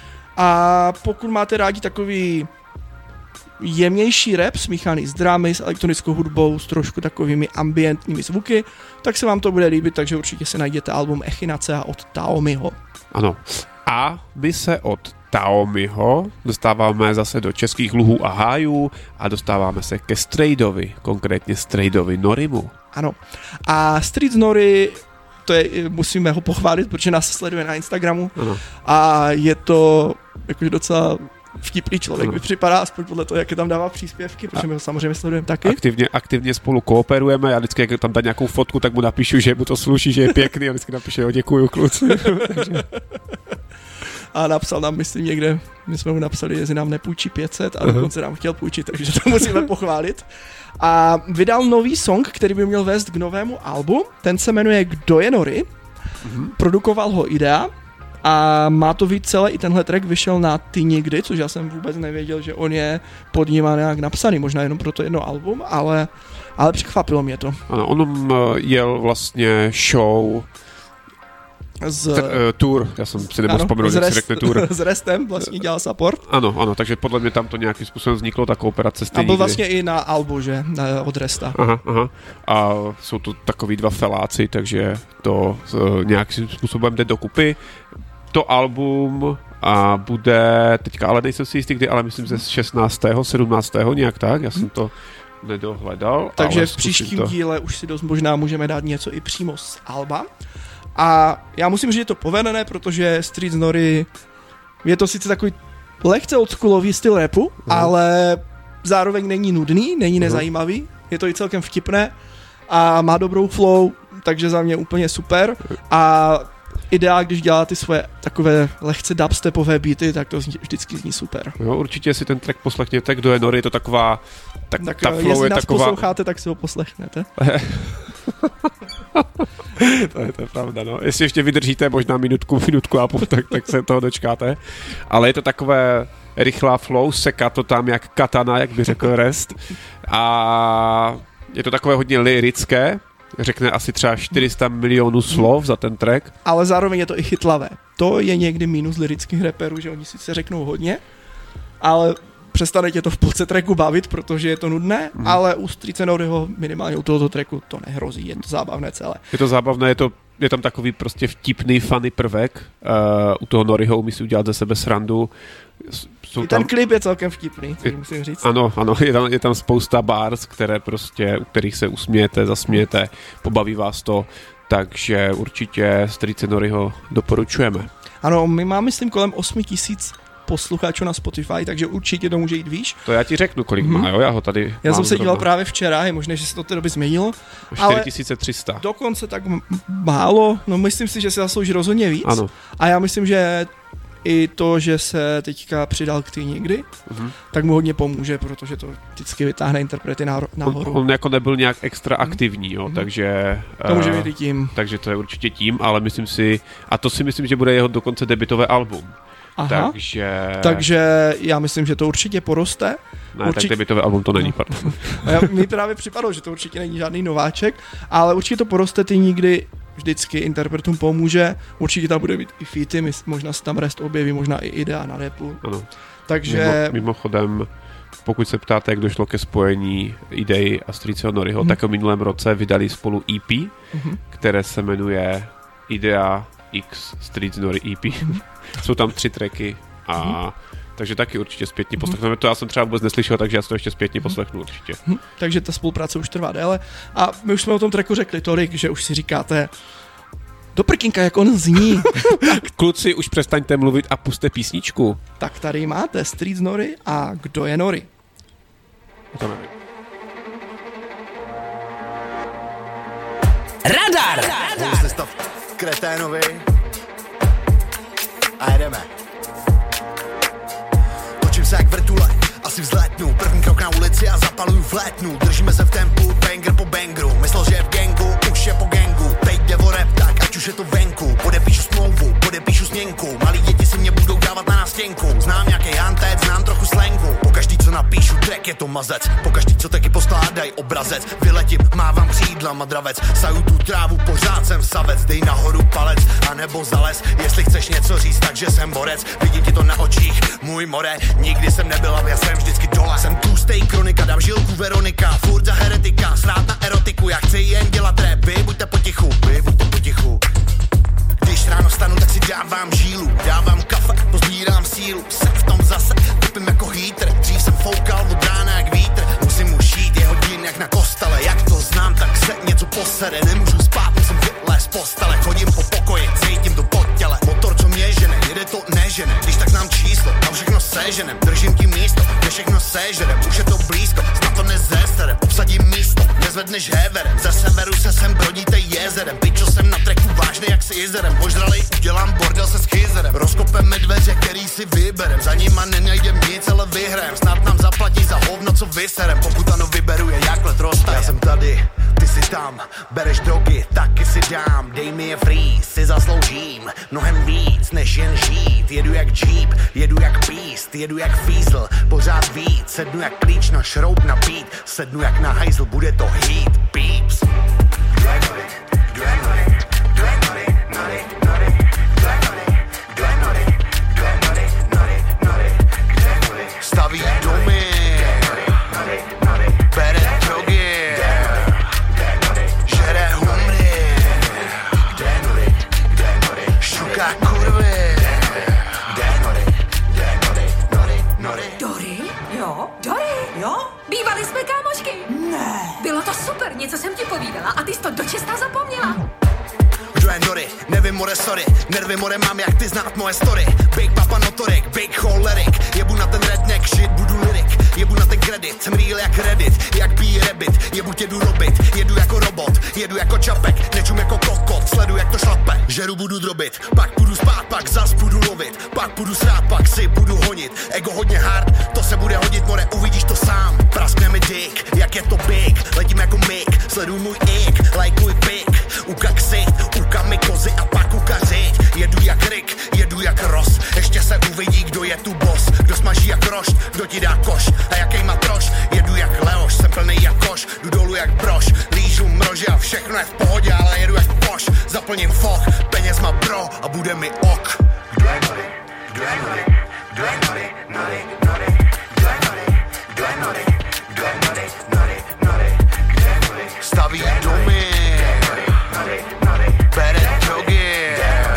A pokud máte rádi takový jemnější rap, smíchaný s drámy, s elektronickou hudbou, s trošku takovými ambientními zvuky, tak se vám to bude líbit, takže určitě si najděte album Echinacea od Taomiho. Ano. A my se od Taomiho dostáváme zase do českých luhů a hájů a dostáváme se ke Straydovi, konkrétně Straydovi Norimu. Ano. A Street Nori, to je, musíme ho pochválit, protože nás sleduje na Instagramu. Ano. A je to jakože docela vtipný člověk, mi připadá, aspoň podle toho, jak je tam dává příspěvky, protože my ho samozřejmě sledujeme taky. Aktivně spolu kooperujeme, já vždycky, jak tam dá nějakou fotku, tak mu napíšu, že mu to sluší, že je pěkný a vždycky napíše, jo, děkuju, kluci. A napsal nám, myslím, někde, my jsme mu napsali, jestli nám nepůjčí 500 a dokonce nám chtěl půjčit, takže to musíme pochválit. A vydal nový song, který by měl vést k novému albu, ten se jmenuje Kdo je Nori, produkoval ho Idea a má to být celé, i tenhle track vyšel na Ty nikdy, což já jsem vůbec nevěděl, že on je pod nima nějak napsaný, možná jenom pro to jedno album, ale překvapilo mě to. Ano, on jel vlastně show tour, já jsem si nemohl vzpomenout, jak si řekne tour. S Restem vlastně dělal support. Ano, takže podle mě tam to nějakým způsobem vzniklo, ta kooperace stejně. A byl vlastně i na albu, že? Od Resta. Aha. A jsou to takový dva feláci, takže to nějakým způsobem jde dokupy. To album a bude, teďka ale nejsem si jistý kdy, ale myslím, že 16. 17. nějak tak, já jsem to nedohledal. Takže v příštím díle už si dost možná můžeme dát něco i přímo z alba. A já musím říct, že je to povedené, protože Street Nori je to sice takový lehce oldschoolový styl rapu, ale zároveň není nudný, není nezajímavý, je to i celkem vtipné a má dobrou flow, takže za mě úplně super a ideál, když dělá ty svoje takové lehce dubstepové beaty, tak to vždycky zní super. Jo, určitě si ten track poslechněte, Kdo je Nori, je to taková, tak ta flow jestli je nás taková... posloucháte, tak si ho poslechnete. to je pravda, no. Jestli ještě vydržíte možná minutku a půl, tak se toho dočkáte. Ale je to takové rychlá flow, seká to tam jak katana, jak by řekl Rest. A je to takové hodně lyrické, řekne asi třeba 400 milionů slov za ten track. Ale zároveň je to i chytlavé. To je někdy mínus lyrických raperů, že oni sice řeknou hodně, ale přestane tě to v půlce tracku bavit, protože je to nudné, ale u Streets Noriho minimálně u tohoto tracku to nehrozí, je to zábavné celé. Je to zábavné, je tam takový prostě vtipný, funny prvek. U toho Noriho umí si udělat ze sebe srandu. Ten klip je celkem vtipný, musím říct. Ano, je tam spousta bars, u kterých se usmějete, zasmějete, pobaví vás to, takže určitě Streets Noriho doporučujeme. Ano, my máme, myslím, kolem 8 000 posluchačů na Spotify, takže určitě to může jít výš. To já ti řeknu, kolik má, jo, já ho tady Já jsem se díval právě včera, je možné, že se to té doby změnilo. 4300. Dokonce tak málo, no myslím si, že se zaslouží rozhodně víc. Ano. A já myslím, že i to, že se teďka přidal k Ty někdy, tak mu hodně pomůže, protože to vždycky vytáhne interprety nahoru. On jako nebyl nějak extra aktivní, jo, takže... To může být i tím. Takže to je určitě tím, ale myslím si, že bude jeho dokonce debutové album. Aha. Takže já myslím, že to určitě poroste. Ne, tak debutové album to není, pardon. Mi právě připadalo, že to určitě není žádný nováček, ale určitě to poroste, Ty nikdy vždycky interpretům pomůže, určitě tam bude být i featy, možná se tam Rest objeví, možná i idea na rapu. Ano. Takže... Mimochodem, pokud se ptáte, jak došlo ke spojení Idei a Streetsho Noriho, tak v minulém roce vydali spolu EP, které se jmenuje Idea X Streets Nori EP. Jsou tam 3 tracky a takže taky určitě zpětně poslechneme. To já jsem třeba vůbec neslyšel, takže já si to ještě zpětně poslechnu určitě. Takže ta spolupráce už trvá déle a my už jsme o tom tracku řekli tolik, že už si říkáte do prkínka, jak on zní. Kluci, už přestaňte mluvit a puste písničku. Tak tady máte Streets Nori a Kdo je Nori. Radar! Můžete stav kreténovi a jedeme. Točím se jak vrtule, asi vzlétnu. První krok na ulici a zapaluju flétnu. Držíme se v tempu, banger po bangru. Myslel, že je v gangu, už je po gangu. Teď jde o rap, tak ať už je to venku. Podepíšu smlouvu, podepíšu směnku. Malí děti si mě budou dávat na nástěnku. Znám nějaký hantec, znám trochu slangu. Pokaždý, co napíšu, track je to mazec. Pokaždý, co taky poskládají obrazec. Vyletím, mávám křídlama dravec. Saju tu trávu, pořád jsem savec. Dej nahoru palec, anebo zales. Jestli chceš něco říct, takže jsem borec. Vidím ti to na očích, můj more. Nikdy jsem nebyl, já jsem vždycky dole. Jsem tlustej kronika, dám žilku Veronika. Furt za heretika, srát na erotiku. Já chci jen dělat rap, vy buďte potichu, vy buďte potichu. Když ráno stanu, tak si dávám žílu. Dávám kafe, pozbírám sílu. Jsem v tom zase, kopím jako hýtr. Dřív jsem foukal od rána jak vítr. Musím už jít, je hodin jak na kostele. Jak to znám, tak se něco posere. Nemůžu spát, musím vylézt z postele. Chodím po pokoji, cítím to pod těle. Motor, co mě žene, jede to nežene. Když tak znám číslo, a všechno seženem. Držím tím místo, kde všechno sežerem. Už je to blízko, snad to nezeserem. Obsadím místo, nezvedneš heverem. Ze severu se sem brodíte jezerem. Pičo jsem na treku vážný jak s jezerem. Požralej, udělám bordel se schizerem. Rozkopeme dveře, který si vyberem. Za nima nenajdem nic, ale vyhrajem. Snad nám zaplatí za hovno, co vyserem. Pokud ano vyberu je, jak let roztajem. Já jsem tady, ty si tam. Bereš drogy, taky si dám. Dej mi je free, si zasloužím mnohem víc, než jen žít. Jedu jak Jeep, jedu jak Beast, jedu jak Fiesel, pořád víc. Sednu jak klíč na šroub na beat. Sednu jak na hajzl, bude to heat, peeps. Staví domy, bere drogy, žere humry, šuká kurvy. Dory? Jo? Dory? Jo? Bývali jsme kámošky. Ne. Bylo to super, něco jsem ti povídala a ty jsi to dočista zapomněla. Kdo je Dory? Nevím, more, sorry. Nervy, more, mám jak ty znát moje story. Big papa notorik, big cholerik. jsem real jak Reddit, jak pí Rabbit, jebu tě jdu robit, jedu jako robot, jedu jako čapek, nečum jako kokot, sledu jak to šlape, žeru budu drobit, pak půjdu spát, pak zas půjdu lovit, pak půjdu srát, pak si půjdu honit, ego hodně hard, to se bude hodit, more, uvidíš to sám, praskne mi dick, jak je to big, letím jako mik, sleduj můj ik, lajkuj pik, uka ksicht, uka mi kozy a pak uka řiď, jedu jak Rick, jedu jak Ross, ještě se uvidí, kdo je tu boss, kdo smaží jak rošt, kdo ti dá koš, a jaký matroš, jedu jak Leoš, jsem plnej jak koš, jdu dolů jak broš, lížu mrože a všechno je v pohodě, ale jedu jak poš, zaplním foch, peněz má bro a bude mi ok. Kdo je nody, kdo je nody, kdo je nody, nody, nody, kdo je nody, kdo je nody, kdo je nody, nody, nody, kdo je nody, staví domy, bere drogy,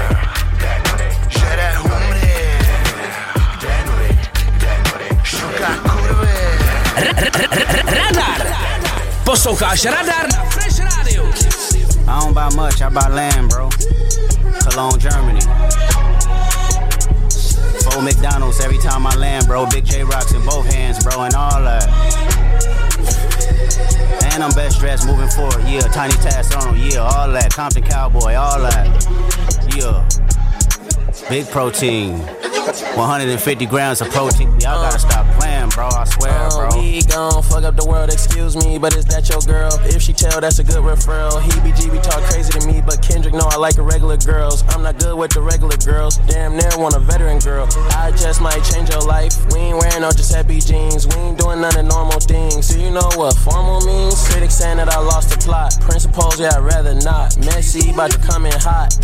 žere humry, šuká kurvy. Radar! Posloucháš Radar na Fresh Radio. I don't buy much, I buy land, bro. Cologne, Germany. 4 McDonald's every time I land, bro. Big J rocks in both hands, bro, and all that. And I'm best dressed moving forward, yeah. Tiny task on, yeah, all that. Compton Cowboy, all that. Yeah. Big protein. 150 grams of protein. Y'all gotta stop playing, bro. I swear, bro. We gon' fuck up the world, excuse me, but is that your girl? If she tell, that's a good referral. He talk crazy to me, but Kendrick know I like irregular girls. I'm not good with the regular girls. Damn near want a veteran girl. I just might change your life. We ain't wearing no Giuseppe jeans. We ain't doing none of normal things. So you know what formal means? Critics saying that I lost the plot. Principles, yeah, I'd rather not. Messy, about to come in hot.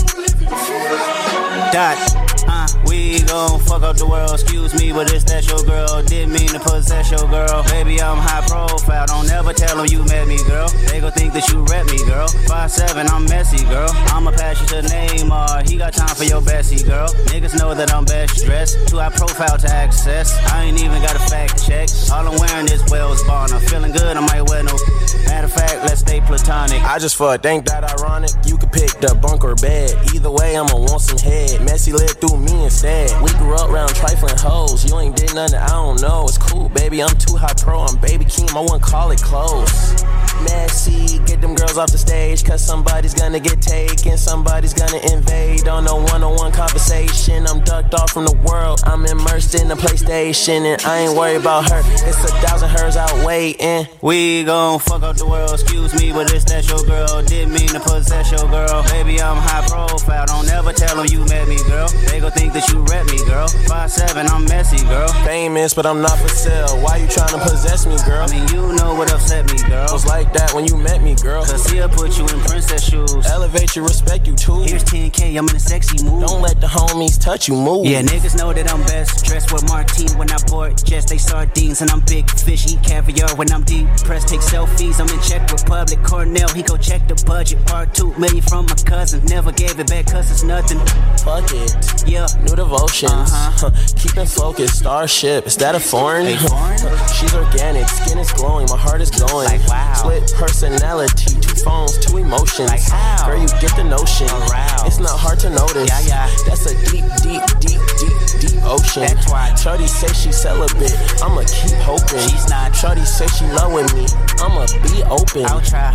We gon' fuck up the world, excuse me, but is that your girl? Didn't mean to possess your girl. Baby, I'm high profile, don't ever tell them you met me, girl. They gon' think that you rep me, girl. 5'7", I'm messy, girl. I'ma pass you to Neymar, he got time for your bestie, girl. Niggas know that I'm best dressed, too high profile to access. I ain't even got a fact check. All I'm wearing is Wells Bonner. Feeling good, I might wear no. Matter of fact, let's stay platonic. I just fuck, ain't that ironic? You could pick the bunk or bed. Either way, I'ma want some head. Messy lived through me instead. We grew up around trifling hoes. You ain't did nothing, I don't know. It's cool, baby, I'm too high pro. I'm Baby Keem, I wouldn't call it close. Messy, get them girls off the stage, cause somebody's gonna get taken, somebody's gonna invade on a one-on-one conversation. I'm ducked off from the world, I'm immersed in the PlayStation, and I ain't worried about her, it's 1,000 hers out waiting. We gon' fuck up the world, excuse me, but is that your girl? Didn't mean to possess your girl. Baby, I'm high profile, don't ever tell them you met me, girl. They gon' think that you rep me, girl. 5'7", I'm messy, girl. Famous, but I'm not for sale, why you tryna possess me, girl? I mean, you know what upset me, girl. Was like that when you met me, girl. Cause he'll put you in princess shoes. Elevate you, respect you too. Here's 10K, I'm in a sexy mood. Don't let the homies touch you, move. Yeah, niggas know that I'm best dressed with Martine when I board jets, they sardines. And I'm big fish, eat caviar when I'm deep pressed, take selfies. I'm in Czech Republic, Cornell, he go check the budget. Part 2 million from my cousin, never gave it back cause it's nothing. Fuck it, yeah. New devotions, keep it focused, Starship, is that a foreign? Hey, foreign? She's organic, skin is glowing, my heart is going. Like wow. Split personality, 2 phones, 2 emotions. Like how? Girl, you get the notion. Aroused. It's not hard to notice. Yeah. That's a deep ocean. That's why. Shorty say she celibate, I'ma keep hoping. She's not. Shorty say she loving me, I'ma be open. I'll try.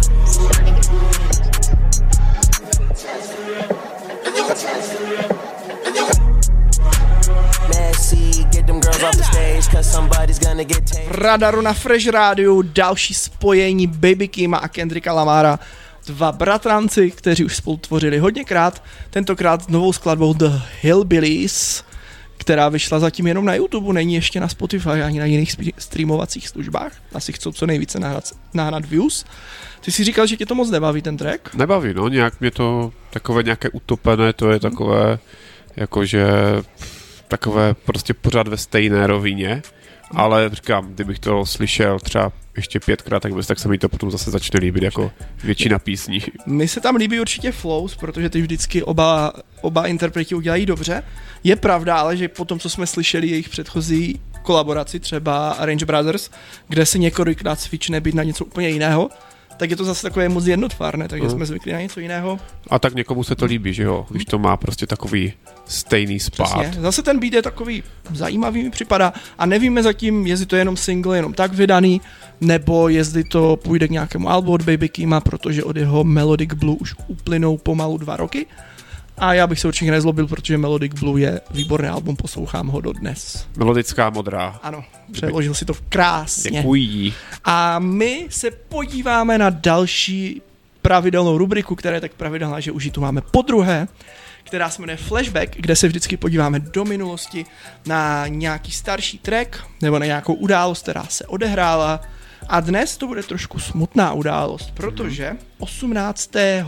Messy, get them girls off the stage, cause somebody's gonna get taken. Radaru na Fresh Radio, další spojení Baby Keema a Kendricka Lamara. 2 bratranci, kteří už spolu tvořili hodněkrát, tentokrát novou skladbou The Hillbillies, která vyšla zatím jenom na YouTube, není ještě na Spotify ani na jiných streamovacích službách. Asi chcou co nejvíce nahrát views. Ty jsi říkal, že tě to moc nebaví ten track? Nebaví, no, nějak mě to takové nějaké utopené, to je takové, jakože takové prostě pořád ve stejné rovině, ale říkám, kdybych to slyšel třeba ještě 5krát, tak se mi to potom zase začne líbit jako většina písní. Mně se tam líbí určitě flows, protože ty vždycky oba interpreti udělají dobře. Je pravda, ale že po tom, co jsme slyšeli jejich předchozí kolaboraci, třeba Arrange Brothers, kde se několikrát switchne být na něco úplně jiného, tak je to zase takové moc jednotvárné, takže jsme zvyklí na něco jiného. A tak někomu se to líbí, že jo? Když to má prostě takový stejný spát. Přesně. Zase ten beat je takový zajímavý, mi připadá, a nevíme zatím, jestli to je jenom single, jenom tak vydaný, nebo jestli to půjde k nějakému albu od Baby Keema, protože od jeho Melodic Blue už uplynou pomalu 2 roky. A já bych se určitě nezlobil, protože Melodic Blue je výborný album, poslouchám ho dodnes. Melodická modrá. Ano, přeložil si to krásně. Děkuji. A my se podíváme na další pravidelnou rubriku, která je tak pravidelná, že už ji tu máme podruhé, která se jmenuje Flashback, kde se vždycky podíváme do minulosti na nějaký starší track nebo na nějakou událost, která se odehrála. A dnes to bude trošku smutná událost, protože 18.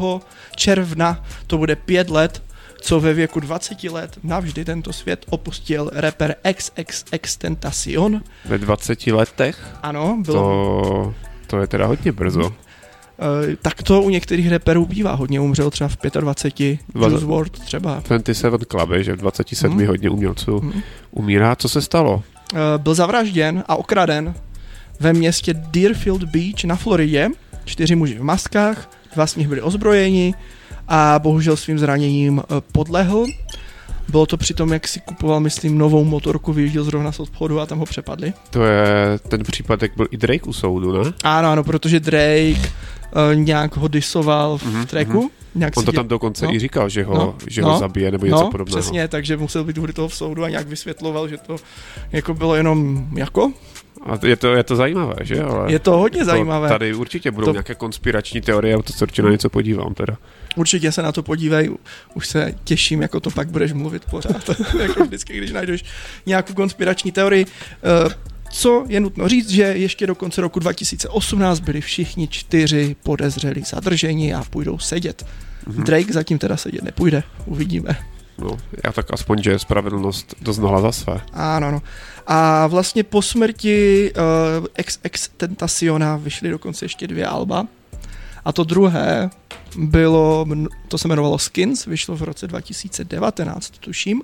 června to bude 5 let, co ve věku 20 let navždy tento svět opustil rapper XXXTentacion. Ve 20 letech? Ano, bylo. To je teda hodně brzo. Tak to u některých rapperů bývá. Hodně umřel třeba v 25, Juice WRLD třeba. 27 Club, že v 27 hodně umělců umírá. Co se stalo? Byl zavražděn a okraden ve městě Deerfield Beach na Floridě. 4 muži v maskách, 2 z nich byli ozbrojeni a bohužel svým zraněním podlehl. Bylo to při tom, jak si kupoval, myslím, novou motorku, vyjížděl zrovna z obchodu a tam ho přepadli. To je ten případ, jak byl i Drake u soudu, ne? Ano, protože Drake nějak ho disoval v tracku. On to tam dokonce i říkal, že ho zabije nebo něco podobného. Přesně, takže musel být u toho v soudu a nějak vysvětloval, že to jako bylo jenom jako... A je to zajímavé, že? Ale je to hodně zajímavé. Tady určitě budou nějaké konspirační teorie, a to se určitě na něco podívám teda. Určitě se na to podívej, už se těším, jako to pak budeš mluvit pořád, jako vždycky, když najdeš nějakou konspirační teorii. Co je nutno říct, že ještě do konce roku 2018 byli všichni 4 podezřelí zadrženi a půjdou sedět. Drake zatím teda sedět nepůjde, uvidíme. No, já tak aspoň, že spravedlnost doznala za své. Ano. A vlastně po smrti XXXTentaciona vyšly dokonce ještě 2 alba. A to druhé to se jmenovalo Skins, vyšlo v roce 2019, tuším.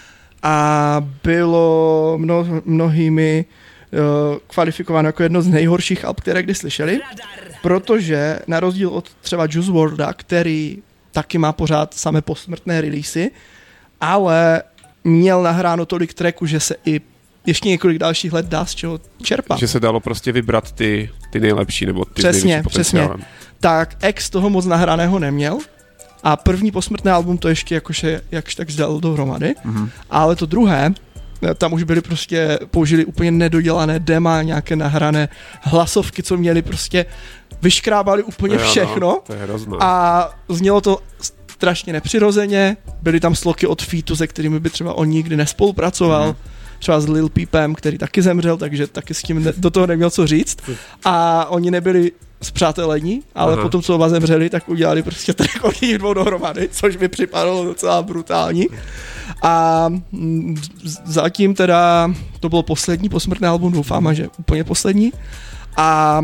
A bylo mnohými kvalifikováno jako jedno z nejhorších alb, které kdy slyšeli, protože na rozdíl od třeba Juice WRLDa, který taky má pořád samé posmrtné releasy, ale měl nahráno tolik tracků, že se i ještě několik dalších let dá z čeho čerpat. Že se dalo prostě vybrat ty nejlepší nebo ty s největším potenciálem. Přesně. Tak X toho moc nahraného neměl a první posmrtné album to ještě jakože jakž tak zdal dohromady, ale to druhé, tam už byli prostě, použili úplně nedodělané dema, nějaké nahrané hlasovky, co měli prostě, vyškrábali úplně všechno to je hrozné. A znělo to strašně nepřirozeně, byly tam sloky od featu, se kterými by třeba on nikdy nespolupracoval, třeba s Lil Peepem, který taky zemřel, takže taky s tím do toho neměl co říct a oni nebyli spřátelení, ale potom, co oba zemřeli, tak udělali prostě track od nich 2 dohromady, což mi připadalo docela brutální. A zatím teda to bylo poslední posmrtné album, doufám, že úplně poslední. A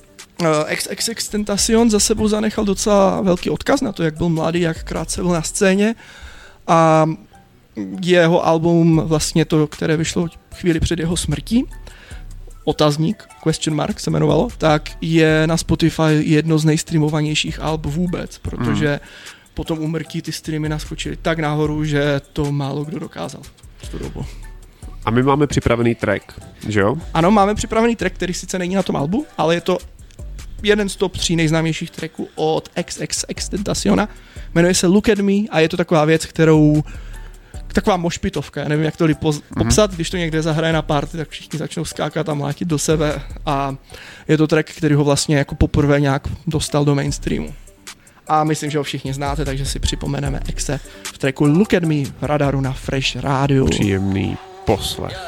XXXTentacion za sebou zanechal docela velký odkaz na to, jak byl mladý, jak krátce byl na scéně. A jeho album, vlastně to, které vyšlo chvíli před jeho smrtí, Otazník, question mark se jmenovalo, tak je na Spotify jedno z nejstreamovanějších alb vůbec, protože po tom úmrtí ty streamy naskočily tak nahoru, že to málo kdo dokázal v tu dobu. A my máme připravený track, že jo? Ano, máme připravený track, který sice není na tom albu, ale je to jeden z top 3 nejznámějších tracků od XXXTentaciona. Jmenuje se Look at Me a je to taková věc, taková mošpitovka, já nevím, jak to popsat, když to někde zahraje na party, tak všichni začnou skákat a mlátit do sebe a je to track, který ho vlastně jako poprvé nějak dostal do mainstreamu. A myslím, že ho všichni znáte, takže si připomeneme Exe v tracku Look at Me v Radaru na Fresh Radio. Příjemný poslech.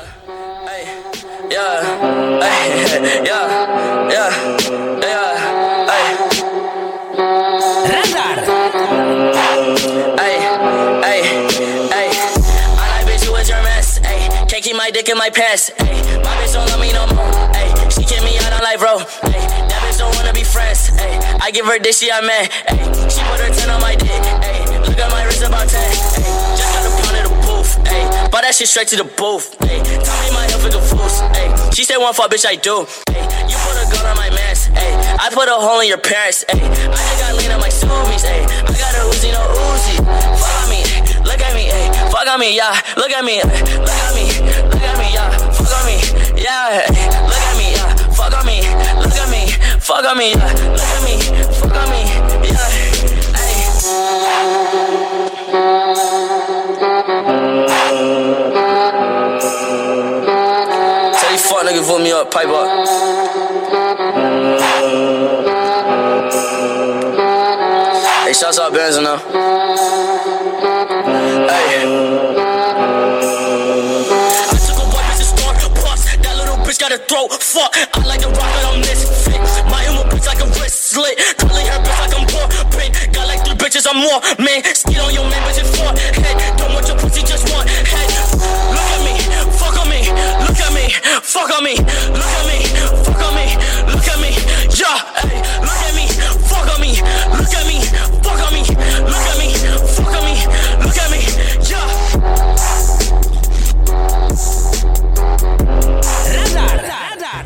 Radar! Can't keep my dick in my pants. Ay, my bitch don't love me no more. Ay, she kick me out on life, bro. Ay, that bitch don't wanna be friends. Ay, I give her dick, she a man. Ay, she put her 10 on my dick. Ay, look at my wrist about 10. Ay, just got a pound of the booth. ayy. Bought that shit straight to the booth, ayy. Tell me my health is a fools, ayy. She said one fuck, bitch, I do, ayy. You put a gun on my mask, ayy. I put a hole in your parents, ayy. I just got lean on my zoomies, ayy. I got a Uzi, no Uzi. Fuck on me, look at me, ayy. Fuck on me, yeah. Look at me, look at me, look at me, yeah. Fuck on me, yeah. Look at me, yeah. Fuck on me, look at me, fuck on me, yeah. Look at me, fuck on me, yeah. Tell these fuck niggas vote me up, pipe up. Hey, shouts out Benz now. Hey. I took a white bitch to store, bust. That little bitch got a throat, fuck. I like the rock, but I'm misfit. My emo bitch like a wrist slit. Curly hair bitch like I'm poor, pink. Got like 3 bitches, I'm more, man. Skid on your man, bitch, it's 4 head. Don't want your pussy, just one head. Look at me, fuck on me. Look at me, fuck on me. Look at me, fuck on me. Look at me, yeah, hey. Look at me, fuck on me. Look at me, fuck on me. Look at me, fuck on me. Look at me, yeah. Radar.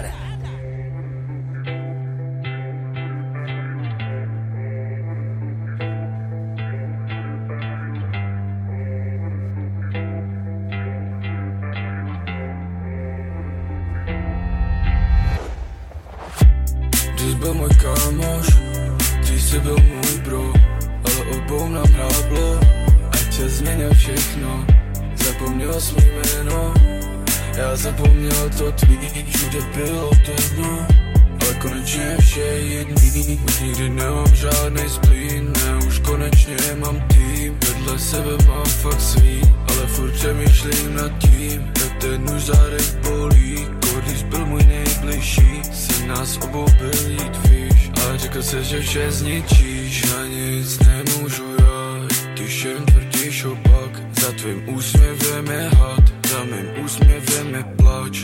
Dřív byl můj kámoš, dřív si byl můj bro, ale obou nám hráblo, ať tě změnil všechno. Zapomněl jsi mý jméno, já zapomněl to tvý, všude bylo temno, ale konečně vše je jedný. Už nikdy nemám žádnej splín, ne, už konečně mám tým. Vedle sebe mám fakt svý, ale furt přemýšlím nad tím, jak ten už zádech bolí. Když byl můj nejbližší, se nás obou byl jít, víš. Ale řekl se, že vše zničíš, na nic nemůžu já, když jen tvrdíš opak. Za tvým úsměvem je had, za mým úsměvem je plač.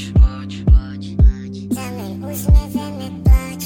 Za mým úsměvem je plač.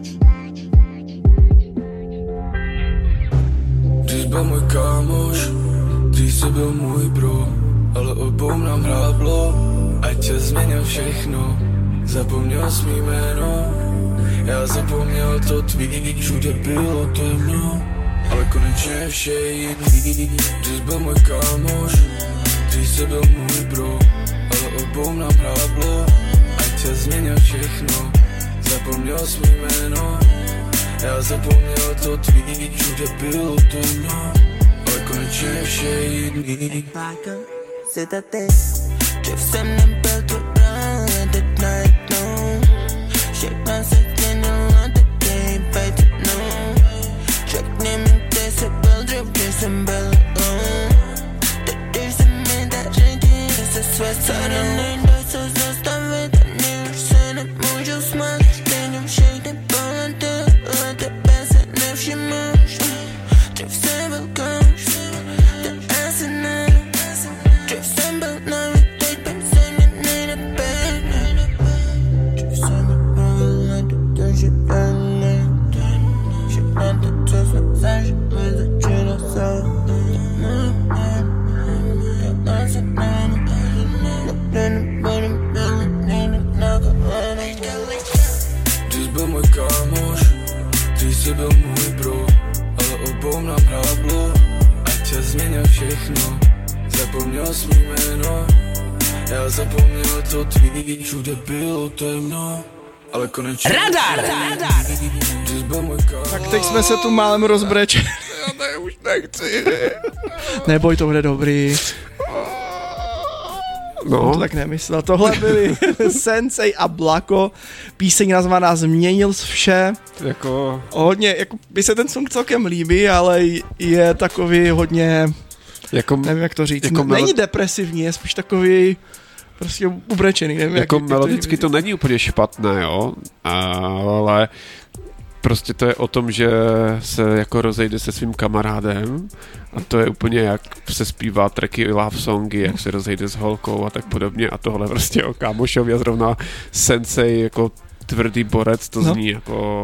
Dřív byl můj kámoš, dřív jsi byl můj bro, ale obou nám hráblo, ať tě změnil všechno. Zapomněl jsi mý jméno, já zapomněl to tvý, všude bylo temno, ale konečně vše je jedný. Dřív byl můj kámoš, dřív jsi byl můj bro, ale obou nám hráblo, ať tě změnil všechno. Zapomněl jsi mý jméno, já zapomněl to tvý, všude bylo temno, ale konečně vše je jedný. Dřív jsem nebyl tvůj rád, teď najednou všechno se změnilo, teď baby, no. Řekni mi, kde jsi byl dřív, když jsem byl teď když se mi daří, že se své staré nejde se zastavit, ani už se nemůžu smát. Stejně všechny polety, ale tebe se nevšimáš. Dřív jsem byl kouš, teď asi ne. Dřív jsem byl navíc, teď bych se mě nejde být. Dřív jsem byl navíc, teď že dále. Všechno to, co jsme zažili, začíná se. Dřív byl můj kámoš, dřív jsi byl můj bro, ale obou nám hráblo, ať tě změnil všechno. Zapomněl jsi mý jméno, já zapomněl to tvý, všude bylo temno, ale konečně Radar! Dřív byl můj kámoš. Tak teď jsme se tu málem rozbrečeli. Já už nechci. Neboj, to bude dobrý. No. To tak nemyslel. Tohle byli Sensei a Blako. Píseň nazvaná Změnil jsi vše. Jako... Hodně, jako by se ten song celkem líbí, ale je takový hodně... Jako, nevím, jak to říct. Jako není depresivní, je spíš takový prostě ubrečený. Nevím, jako jak melodicky to není úplně špatné, jo, ale prostě to je o tom, že se jako rozejde se svým kamarádem a to je úplně jak se zpívá tracky love songy, jak se rozejde s holkou a tak podobně a tohle prostě o kámošovi a zrovna Sensei jako tvrdý borec, to zní jako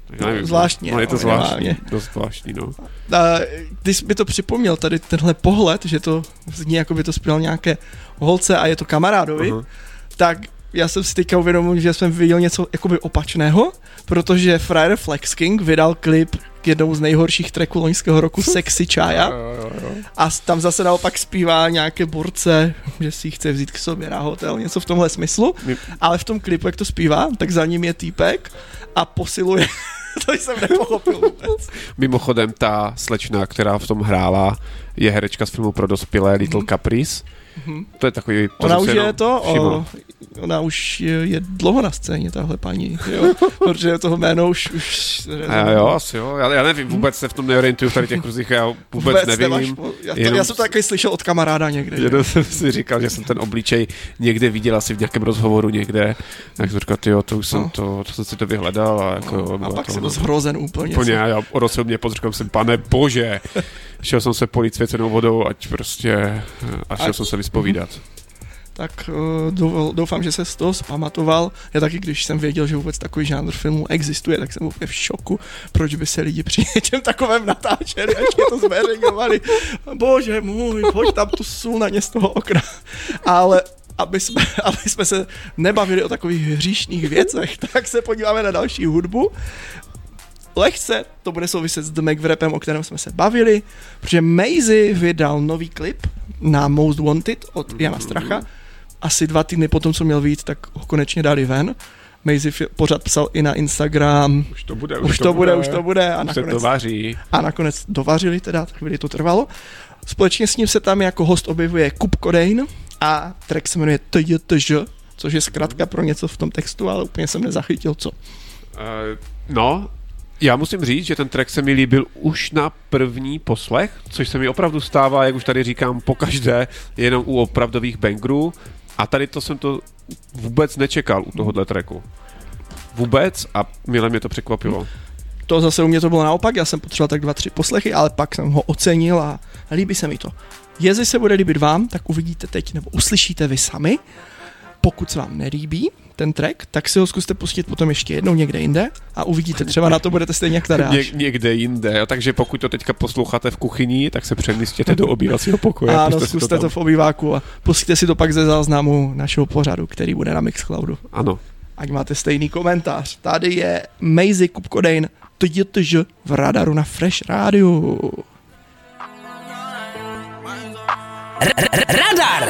Já nevím, zvláštní. No je to zvláštní, dost zvláštní, no. Když by to připomněl, tady tenhle pohled, že to zní, jako by to zpíval nějaké holce a je to kamarádovi, tak já jsem si teďka uvědomil, že jsem viděl něco jakoby opačného, protože Friar Flex King vydal klip k jednou z nejhorších tracků loňského roku Sexy Chaya a tam zase naopak zpívá nějaké borce, že si ji chce vzít k sobě na hotel, něco v tomhle smyslu, ale v tom klipu, jak to zpívá, tak za ním je týpek a posiluje. To jsem nepochopil vůbec. Mimochodem ta slečna, která v tom hrála, je herečka z filmu pro dospělé Little Caprice. To je takový... Ona už je to, ona už je dlouho na scéně, tahle paní, jo? Protože toho jméno už jo, asi jo, já nevím, vůbec se v tom neorientuju v tady těch kruzích, já vůbec nevím. Já jsem to taky slyšel od kamaráda někde. Jenom jsem si říkal, že jsem ten obličej někde viděl asi v nějakém rozhovoru někde, tak jsem říkal, tyjo, to už jsem to jsem si to vyhledal a jako... A pak jsem to zhrozen úplně. Já odrosil mě, říkal jsem, pane bože, šel jsem se polít svěcenou vodou, ať prostě, a šel jsem se vyspovídat. Tak doufám, že se z toho zpamatoval. Já taky, když jsem věděl, že vůbec takový žánr filmu existuje, tak jsem úplně v šoku, proč by se lidi při něčem takovém natáčeli a ještě to zveřejňovali. Bože můj, pojď tam tu sůl na ně z toho okna. Ale aby jsme se nebavili o takových hříšných věcech, tak se podíváme na další hudbu. Lehce to bude souviset s The Mac Wrapem, o kterém jsme se bavili, protože Maizy vydal nový klip na Most Wanted od Jana Stracha. Asi 2 týdny potom, co měl vyjít, tak ho konečně dali ven. Maizy pořád psal i na Instagram. Už to bude. A nakonec dovařili teda, tak chvíli to trvalo. Společně s ním se tam jako host objevuje Coop Codeine a track se jmenuje TJTŽ, což je zkratka pro něco v tom textu, ale úplně jsem nezachytil, co. Já musím říct, že ten track se mi líbil už na první poslech, což se mi opravdu stává, jak už tady říkám, pokaždé, jenom u opravdových bangerů. A tady to jsem to vůbec nečekal u tohohle tracku. Vůbec a milé mě to překvapilo. To zase u mě to bylo naopak, já jsem potřeboval tak 2-3 poslechy, ale pak jsem ho ocenil a líbí se mi to. Jestli se bude líbit vám, tak uvidíte teď, nebo uslyšíte vy sami. Pokud se vám nelíbí ten track, tak si ho zkuste pustit potom ještě jednou někde jinde a uvidíte, třeba na to budete stejně jak tady. Někde jinde, takže pokud to teďka posloucháte v kuchyni, tak se přemístěte do obývacího pokoje. Ano, zkuste to v obýváku a pustíte si to pak ze záznamu našeho pořadu, který bude na Mixcloudu. Ano. Ať máte stejný komentář. Tady je Maizy Coop Codeine TJTŽ v Radaru na Fresh Radio. Radar!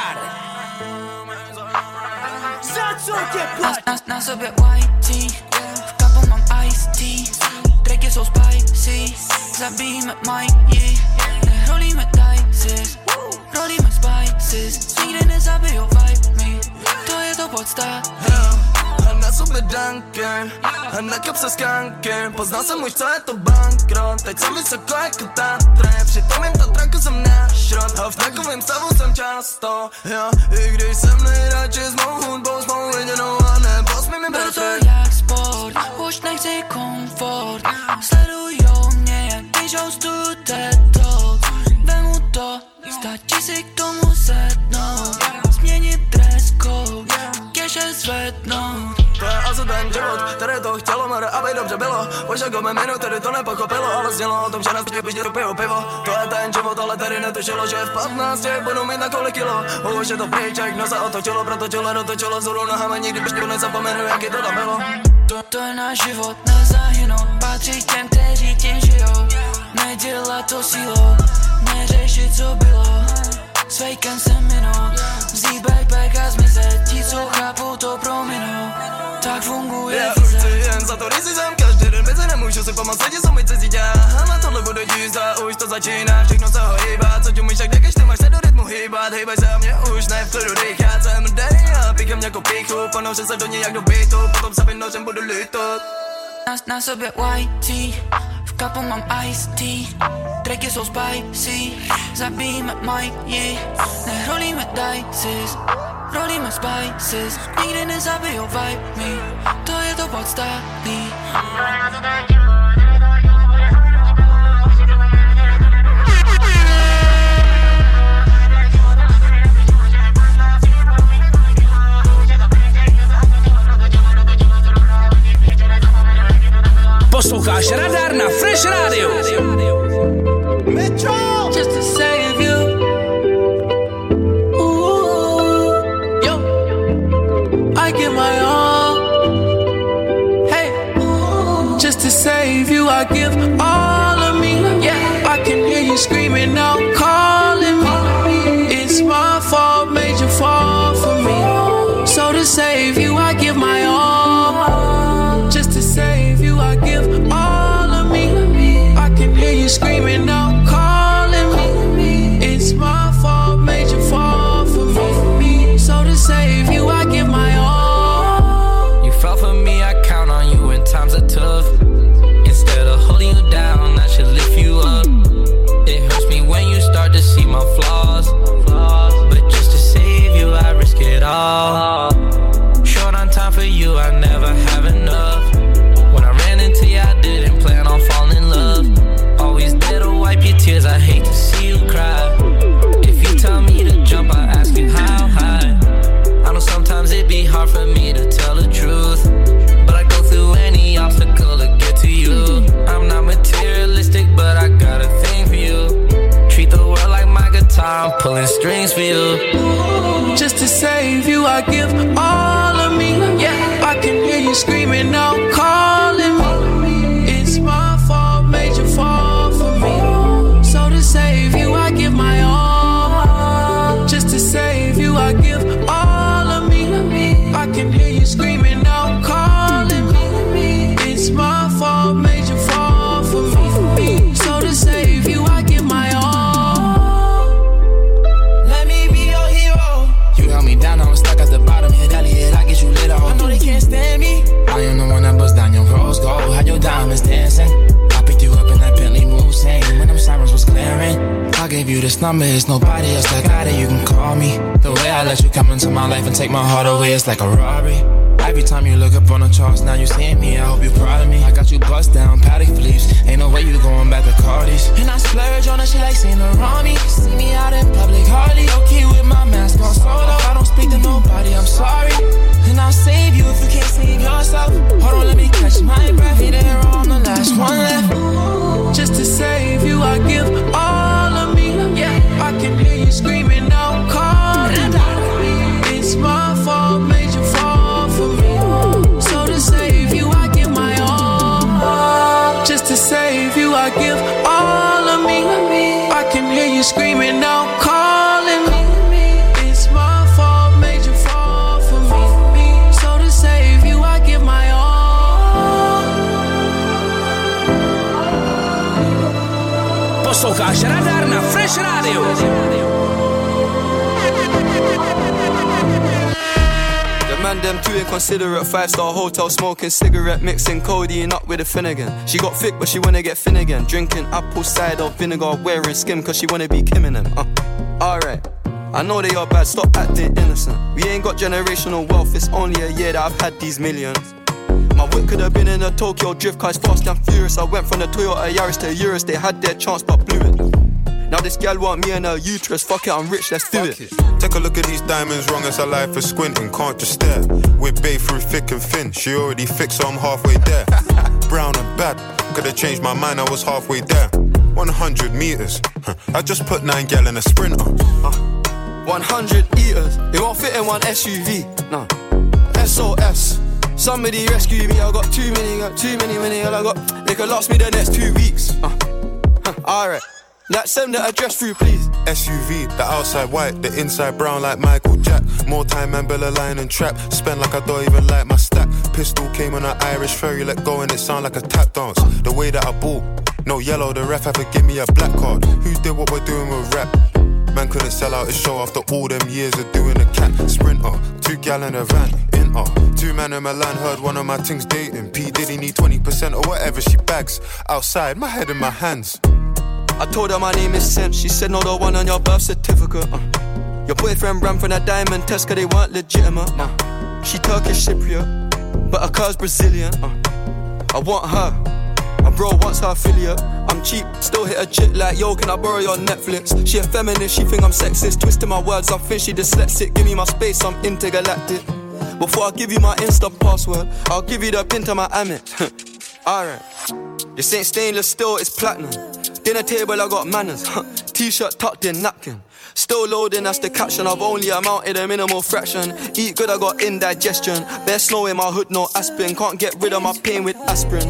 Na sobě whitey, v kapu mám iced tea, tracky jsou spicy, zabijíme Mikey, nerolíme dices, rolíme spices, nikdy nezabijou vibe me, to je to podstatný. A na sobě dunker, a na kapse skanker, poznal jsem už, co je to bankrot, teď jsem vysoko jako Tatre, při tom jim to traku jsem nášrot, a v takovém stavu jsem často, i když jsem nejradši s mou hudbou, s mou jedinou a nebo s mými beru to jak sport, už nechci komfort, sledujou mě, jak píšou studeto, vemu to, stačí si k tomu sednout, změnit dress code, keše zvednout. To je asi ten život, který to chtělo, mora, aby dobře bylo. Už jako mé minu, tedy to nepochopilo, ale znělo o tom, že nás píš piju pivo. To je ten život, ale tady netušilo, že v 15 budu mít na kolik kilo. Už je to pryč, jak nosa otočilo, protočilo, dotočilo vzhůru nohama, nikdy pišťu nezapomenu, jaký to tam bylo. To je náš život, nezahynout, patří těm, kteří tím žijou. Nedělat to sílou, neřešit, co bylo. S fejkem se minout, vzít backpack a zmizet, ti, co chápou, to prominou. Tak funguje já už chci jen za to, když jsem každý den mezi nemůžu si pomoct, lidi jsou mi cizí dělá. Na tohle budu jízda, už to začíná, všechno se hýbá. Co ti umíš, tak když ty máš se do rytmu hýbat. Hýbaj se a mě už ne v klidu dýchat. Jsem mrdej a píchám nějakou píchu, ponořím se do ní jak do beatu, potom se vynořím, budu lítat. Na sobě whitey, v kapu mám iced tea, tracky jsou spicy, zabijíme Mikey, nerolíme dices, rolíme spices, nikdy nezabijou vibe me, to je to podstatný. save you, I give all of me. Yeah, I can hear you screaming out, calling me. It's my fault, made you fall for me. So to save you, I give my all. Just to save you, I give all of me. I can hear you screaming out, calling me. It's my fault, made you fall for me. So to save you, I give my all. You fell for me, I count on you when times are tough. Instead of holding you down, I should lift you up. It hurts me when you start to see my flaws, but just to save you, I risk it all. Short on time for you, I never have enough. When I ran into you, I didn't plan on falling in love. Always there to wipe your tears, I hate to see you cry. If you tell me to jump, I ask you how high. I know sometimes it'd be hard for me to tell the truth, but I go through any obstacle to get to you. I'm not materialistic, but I got a thing for you. Treat the world like my guitar, I'm pulling strings for you. Just to save you, I give all of me. Yeah, I can hear you screaming out, calling me. It's my fault, made you fall for me. So to save you, I give my all. Just to save you, I give all of me. I can hear you screaming out, calling me. It's my fault, made you fall for me. So to save you, I give my all. Let me be your hero. You held me down, I was stuck at the bottom. Hit Elliot, I get you lit off. I know they can't stand me. I am the one that bust down your rose gold. Had your diamonds dancing. I picked you up in that Bentley Mulsanne when them sirens was clearing. I gave you this number, it's nobody else that got it. You can call me. The way I let you come into my life and take my heart away, it's like a robbery. Every time you look up on the charts, now you seeing me, I hope you're proud of me. I got you bust down, Patek Philippe's. Ain't no way you going back to Cardi's. And I splurge on her, she like Saint Laurent. See me out in public, hardly okay with my mask on solo. I don't speak to nobody, I'm sorry. And I'll save you if you can't save yourself. Hold on, let me catch my breath. Hey there, I'm the last one left. Just to save you, I give all of me. Yeah, I can hear you screaming out, calling me. It's my fault, made you fall for me. So to save you, I give my all. Just to save you, I give all of me. I can hear you screaming out, calling me. It's my fault, made you fall for me. So to save you, I give my all. Posloucháš Radar na Fresh Radio. Man, them too inconsiderate. 5-star hotel smoking cigarette, mixing codeine up with a Finnegan. She got thick but she wanna get thin again. Drinking apple cider vinegar, wearing skim cause she wanna be Kim in them. Alright, I know they are bad, stop acting innocent. We ain't got generational wealth, it's only a year that I've had these millions. My whip could have been in a Tokyo drift car, it's fast and furious. I went from the Toyota Yaris to Urus, they had their chance but blew it. Now this gal want me and her uterus, fuck it, I'm rich, let's do it. Take a look at these diamonds, wrong as a life for squinting, can't just stare. We're bae through thick and thin, she already fixed so I'm halfway there. Brown and bad, could've changed my mind, I was halfway there. 100 meters, I just put 9 gal in a Sprinter. 100 eaters, they won't fit in one SUV, nah. SOS, somebody rescue me, I got too many, I got, they could last me the next 2 weeks. Alright. Like send the address through, please. SUV, the outside white, the inside brown like Michael Jack. More time and Bella line and trap. Spend like I don't even like my stack. Pistol came on an Irish ferry, let go and it sound like a tap dance. The way that I bought, no yellow, the ref had to give me a black card. Who did what we're doing with rap? Man couldn't sell out his show after all them years of doing a cat. Sprinter, 2 gal in a van, in 2 man in Milan, heard one of my things dating. P Diddy need 20% or whatever she bags. Outside, my head in my hands. I told her my name is Sam. She said no, the one on your birth certificate. Your boyfriend ran from that diamond test cause they weren't legitimate. She Turkish Cypriot, but her car's Brazilian. I want her, my bro wants her affiliate. I'm cheap, still hit a chick like, yo, can I borrow your Netflix? She a feminist, she think I'm sexist. Twisting my words, I think she dyslexic. Give me my space, I'm intergalactic. Before I give you my Insta password, I'll give you the pin to my Amex. Alright, this ain't stainless steel, it's platinum. Dinner table, I got manners. T-shirt tucked in, napkin. Still loading, that's the caption. I've only amounted a minimal fraction. Eat good, I got indigestion. Bare snow in my hood, no aspirin. Can't get rid of my pain with aspirin.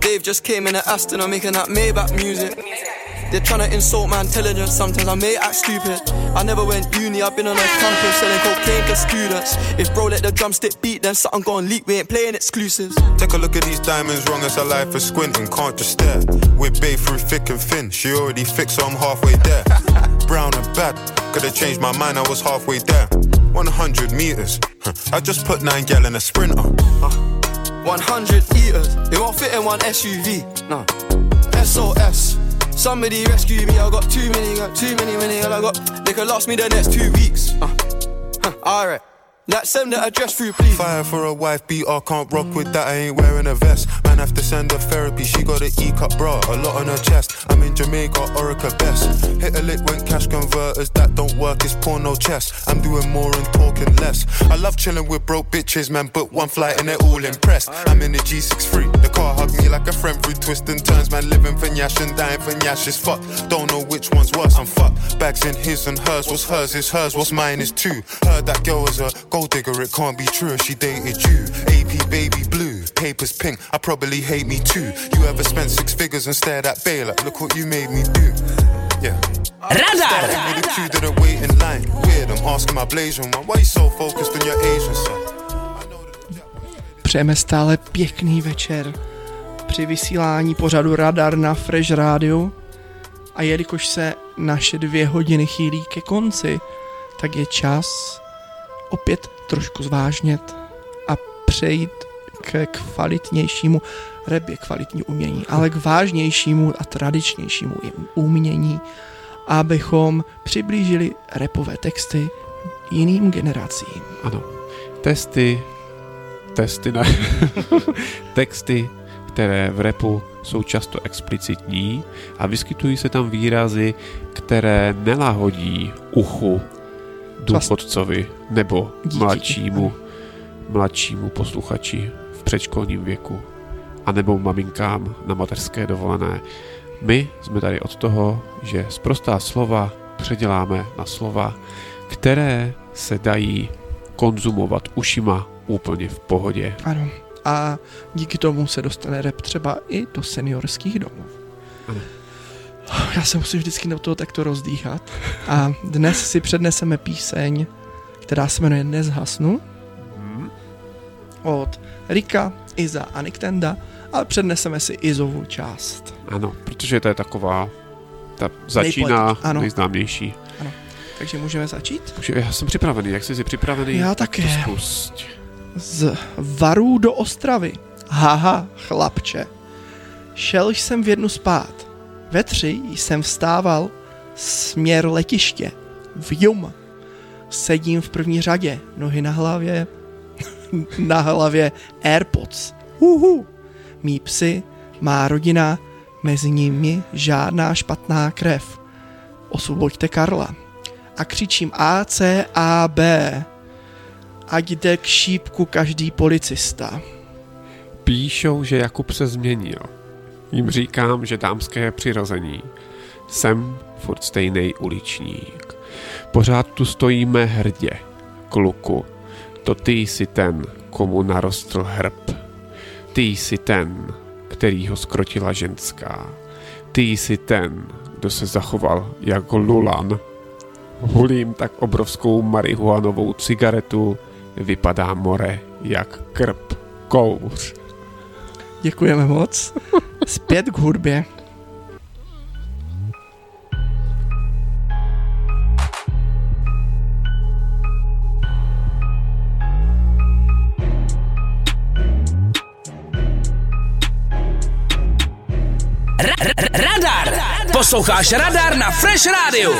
Dave just came in an Aston, I'm making that Maybach music. They're trying to insult my intelligence, sometimes I may act stupid. I never went uni, I've been on a campus selling cocaine to students. If bro let the drumstick beat, then something gon' leak, we ain't playing exclusives. Take a look at these diamonds, wrong as a life for squinting, can't just stare. We're babe through thick and thin, she already fixed, so I'm halfway there. Brown and bad, could've changed my mind, I was halfway there. 100 meters, I just put 9 gal in a Sprinter. 100 eaters, they won't fit in one SUV, nah. SOS, somebody rescue me, I got too many, I got, they could last me the next 2 weeks. Alright. Like send the address through, please. Fire for a wife beater, can't rock with that, I ain't wearing a vest. Man have to send her therapy, she got an E-cup bra, a lot on her chest. I'm in Jamaica, Orica best. Hit a lick when cash converters, that don't work, it's porno chest. I'm doing more and talking less. I love chilling with broke bitches, man, book one flight and they're all impressed. I'm in the G63, the car hugged me like a friend through twists and turns. Man living for Nyash and dying for Nyash is fucked. Don't know which one's worse, I'm fucked. Bags in his and hers, what's hers is hers, what's mine is too. Heard that girl was a gold digger, it can't be true if she dated you. AP baby blue, papers pink, I probably hate me too. You ever spent 6 figures and stared at Bay like, look what you made me do. Yeah. Radar! Me the two didn't wait in line. Weird, I'm asking my Blasian one, why you so focused on your Asian side? Přejeme stále pěkný večer při vysílání pořadu Radar na Fresh Radio. A jelikož se naše 2 hodiny chýlí ke konci, tak je čas opět trošku zvážnět a přejít k kvalitnějšímu, rap je kvalitní umění, ale k vážnějšímu a tradičnějšímu umění, abychom přiblížili rapové texty jiným generacím. Ano, texty, které v rapu jsou často explicitní a vyskytují se tam výrazy, které nelahodí uchu důchodcovi nebo mladšímu posluchači v předškolním věku a nebo maminkám na mateřské dovolené. My jsme tady od toho, že sprostá slova předěláme na slova, které se dají konzumovat ušima úplně v pohodě. Ano. A díky tomu se dostane rap třeba i do seniorských domů. Ano. Já se musím vždycky do toho takto rozdýchat. A dnes si předneseme píseň, která se jmenuje Nezhasnu. Od Rika, Iza a Niktenda, ale předneseme si Izovu část. Ano, protože to je taková, ta začíná nejznámější. Ano, takže můžeme začít? Já jsem připravený, jak jsi připravený? Já také. Spust. Z Varů do Ostravy. Haha, chlapče. Šel jsem v 1 spát. Ve 3 jsem vstával směr letiště. Vjum. Sedím v první řadě. Nohy na hlavě AirPods. Mí psy, má rodina, mezi nimi žádná špatná krev. Osvoboďte Karla. A křičím ACAB. Ať jde k šípku každý policista. Píšou, že Jakub se změnil. Jim říkám, že dámské přirození. Jsem furt stejnej uličník. Pořád tu stojíme hrdě. Kluku, to ty jsi ten, komu narostl hrb. Ty jsi ten, který ho skrotila ženská. Ty jsi ten, kdo se zachoval jako lulan. Hulím tak obrovskou marihuanovou cigaretu, vypadá more jak krb kouř. Děkujeme moc. Zpět k hudbě. Radar! Posloucháš Radar na Fresh Radio.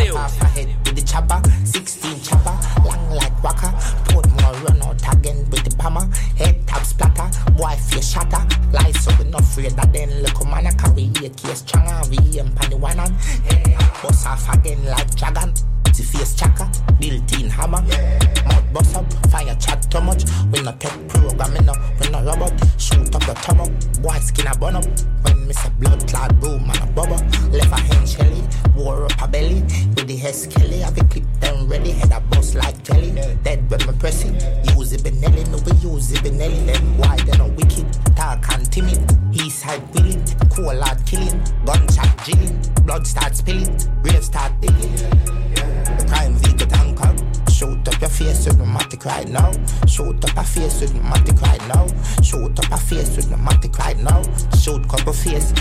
Head tap splatter, boy face shatter. Lies so we not afraid that then look man I carry a case changa. We aim pan the one on. Boss off again like dragon. The face chaka, built-in hammer. Mouth bust up, fire chat too much. We not take programming up, we not robot. Shoot up the top up, boy skin a burn up. When me say blood clot boom and a bubble. Left a hand shelly, wore up a belly. With the hair skelly, have a clip them ready. Head a bust like jelly. Dead when me press it. Use it Benelli, no we use it Benelli. Then why they no wicked, dark and timid. East side Shoot up a face with my matic right now. Shoot up a face with my matic right now. Shoot couple face.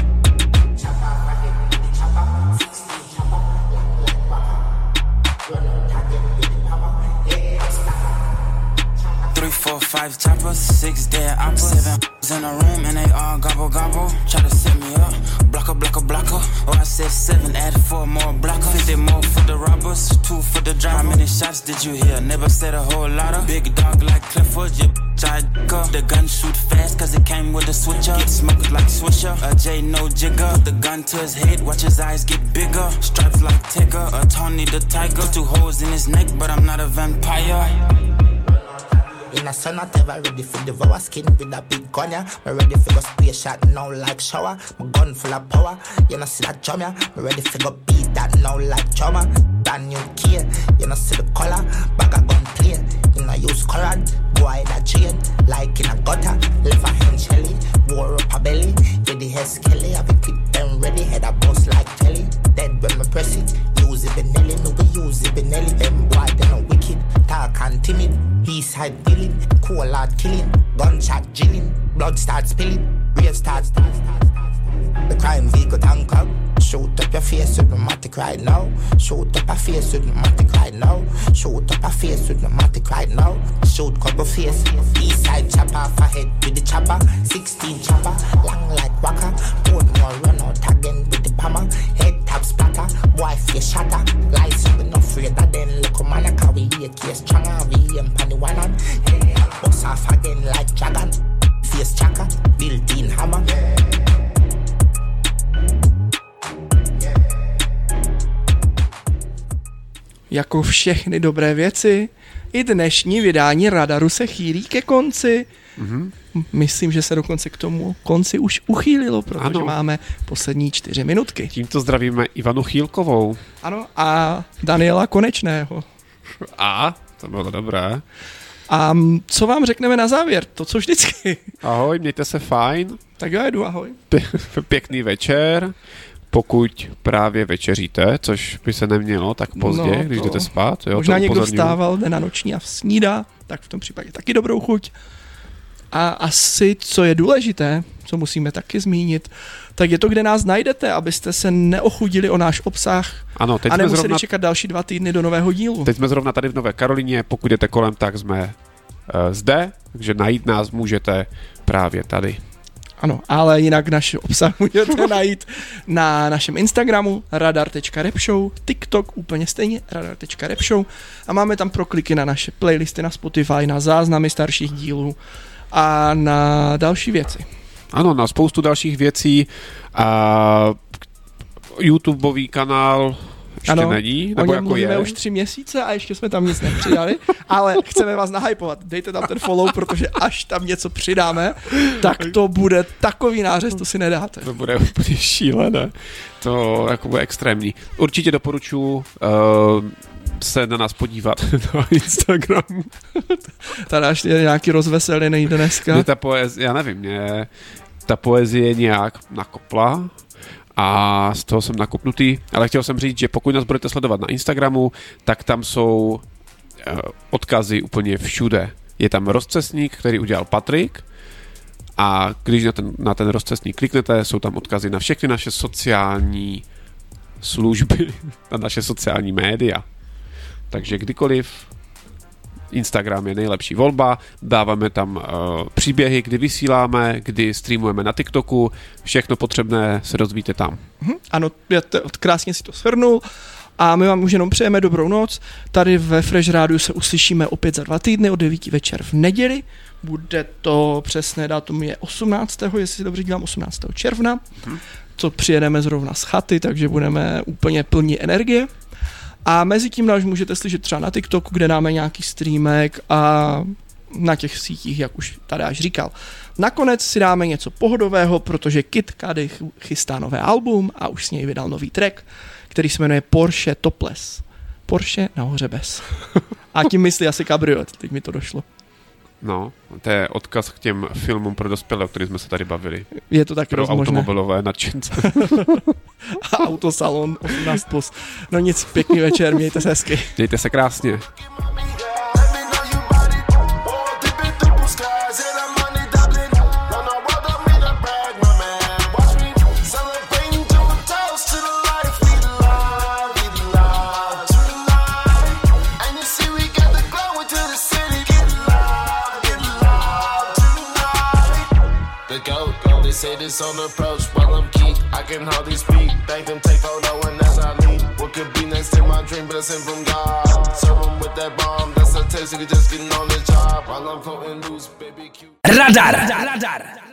3, 4, 5 choppers, 6 dead oppers, 7 in a room and they all gobble gobble. Try to set me up, blocker, blocker, blocker. Oh, I said 7, add 4 more blockers. 50 more for the robbers, 2 for the drive. How many shots did you hear? Never said a whole lot of. Big dog like Clifford, you Jaica. The gun shoot fast cause it came with a switcher. Get smoked like Swisher, a J no jigger. Put the gun to his head, watch his eyes get bigger. Stripes like Tigger, a Tony the Tiger. 2 holes in his neck, but I'm not a vampire. In a sun, not ever ready for devour skin with a big gun, yeah. Me ready for go spray shot now like shower. My gun full of power, you know see that drum, yeah. Me ready for go beat that now like trauma. Brand new key, you know see the color. Bag a gun play, you know use current. Boy that chain, like in a gutter. Left a hand shelly, wore up a belly. With the head skelly, I be keep them ready. Head a bust like telly. Dead when me press it, use it Benelli. Me we use it Benelli. Them boy they no wicked, talk and timid. East side killing, cool lad killing, gunshot drilling, blood starts spilling, rave starts. The crime vehicle tank up. Shoot up your face with my matic right now. Shoot up a face with my matic right now. Shoot up a face with my matic right now. Shoot couple face. East side chop off a head with the chopper. 16 chopper, long like waka. One more run out again with the hammer. Head tap splatter, boy face shatter. Lies up enough afraid that then look man a car we AK stronger. We am pan the one on. Hey, bust off again like dragon. Face chaka, built-in hammer. Jako všechny dobré věci, i dnešní vydání Radaru se chýlí ke konci. Mm-hmm. Myslím, že se dokonce k tomu konci už uchýlilo, protože máme poslední 4 minutky. Tímto zdravíme Ivanu Chýlkovou. Ano, a Daniela Konečného. A, to bylo dobré. A co vám řekneme na závěr? To, co vždycky. Ahoj, mějte se fajn. Tak já jdu, ahoj. Pěkný večer. Pokud právě večeříte, což by se nemělo tak pozdě, když jdete spát. Jo, možná někdo vstával, jde na noční a snídá, tak v tom případě taky dobrou chuť. A asi, co je důležité, co musíme taky zmínit, tak je to, kde nás najdete, abyste se neochudili o náš obsah ano, teď a nemuseli čekat další 2 týdny do nového dílu. Teď jsme zrovna tady v Nové Karolíně, pokud jdete kolem, tak jsme zde, takže najít nás můžete právě tady. Ano, ale jinak náš obsah můžete najít na našem Instagramu radar.rapshow, TikTok úplně stejně radar.rapshow a máme tam prokliky na naše playlisty na Spotify, na záznamy starších dílů a na další věci. Ano, na spoustu dalších věcí. A YouTubeový kanál ještě ano, není, nebo jako jako mluvíme je. už 3 měsíce a ještě jsme tam nic nepřidali, ale chceme vás nahypovat. Dejte tam ten follow, protože až tam něco přidáme, tak to bude takový nářez, to si nedáte. To bude úplně šílené. To jako bude extrémní. Určitě doporučuji se na nás podívat na Instagramu. Tady až je nějaký rozveselěný dneska. Mě ta poezie, já nevím, mě ta poezie nějak nakopla a z toho jsem nakopnutý, ale chtěl jsem říct, že pokud nás budete sledovat na Instagramu, tak tam jsou odkazy úplně všude. Je tam rozcestník, který udělal Patrik a když na ten rozcestník kliknete, jsou tam odkazy na všechny naše sociální služby, na naše sociální média. Takže kdykoliv Instagram je nejlepší volba, dáváme tam příběhy, kdy vysíláme, kdy streamujeme na TikToku, všechno potřebné se dozvíte tam. Ano, krásně si to shrnul a my vám už jenom přejeme dobrou noc. Tady ve Fresh Rádiu se uslyšíme opět za 2 týdny od 9 večer v neděli. Bude to přesné datum je 18. jestli si dobře dělám, 18. června, co přijedeme zrovna z chaty, takže budeme úplně plní energie. A mezi tím nás můžete slyšet třeba na TikToku, kde dáme nějaký streamek a na těch sítích, jak už tady až říkal. Nakonec si dáme něco pohodového, protože Kid Cudi chystá nové album a už s něj vydal nový track, který se jmenuje Porsche Topless. Porsche nahoře bez. A tím myslí asi kabriolet, teď mi to došlo. No, to je odkaz k těm filmům pro dospělé, o kterých jsme se tady bavili. Je to taky pro rozmožné. automobilové nadšence. A autosalon 18+. No nic, pěkný večer, mějte se hezky. Mějte se krásně. the goat. They say this on the approach, while I'm key, I can hardly speak. Thank them, take photo, and that's I need. What could be next in my dream, blessing from God. Serve them with that bomb, that's a taste, you just getting on the job. While I'm floating loose, baby cute. Radar.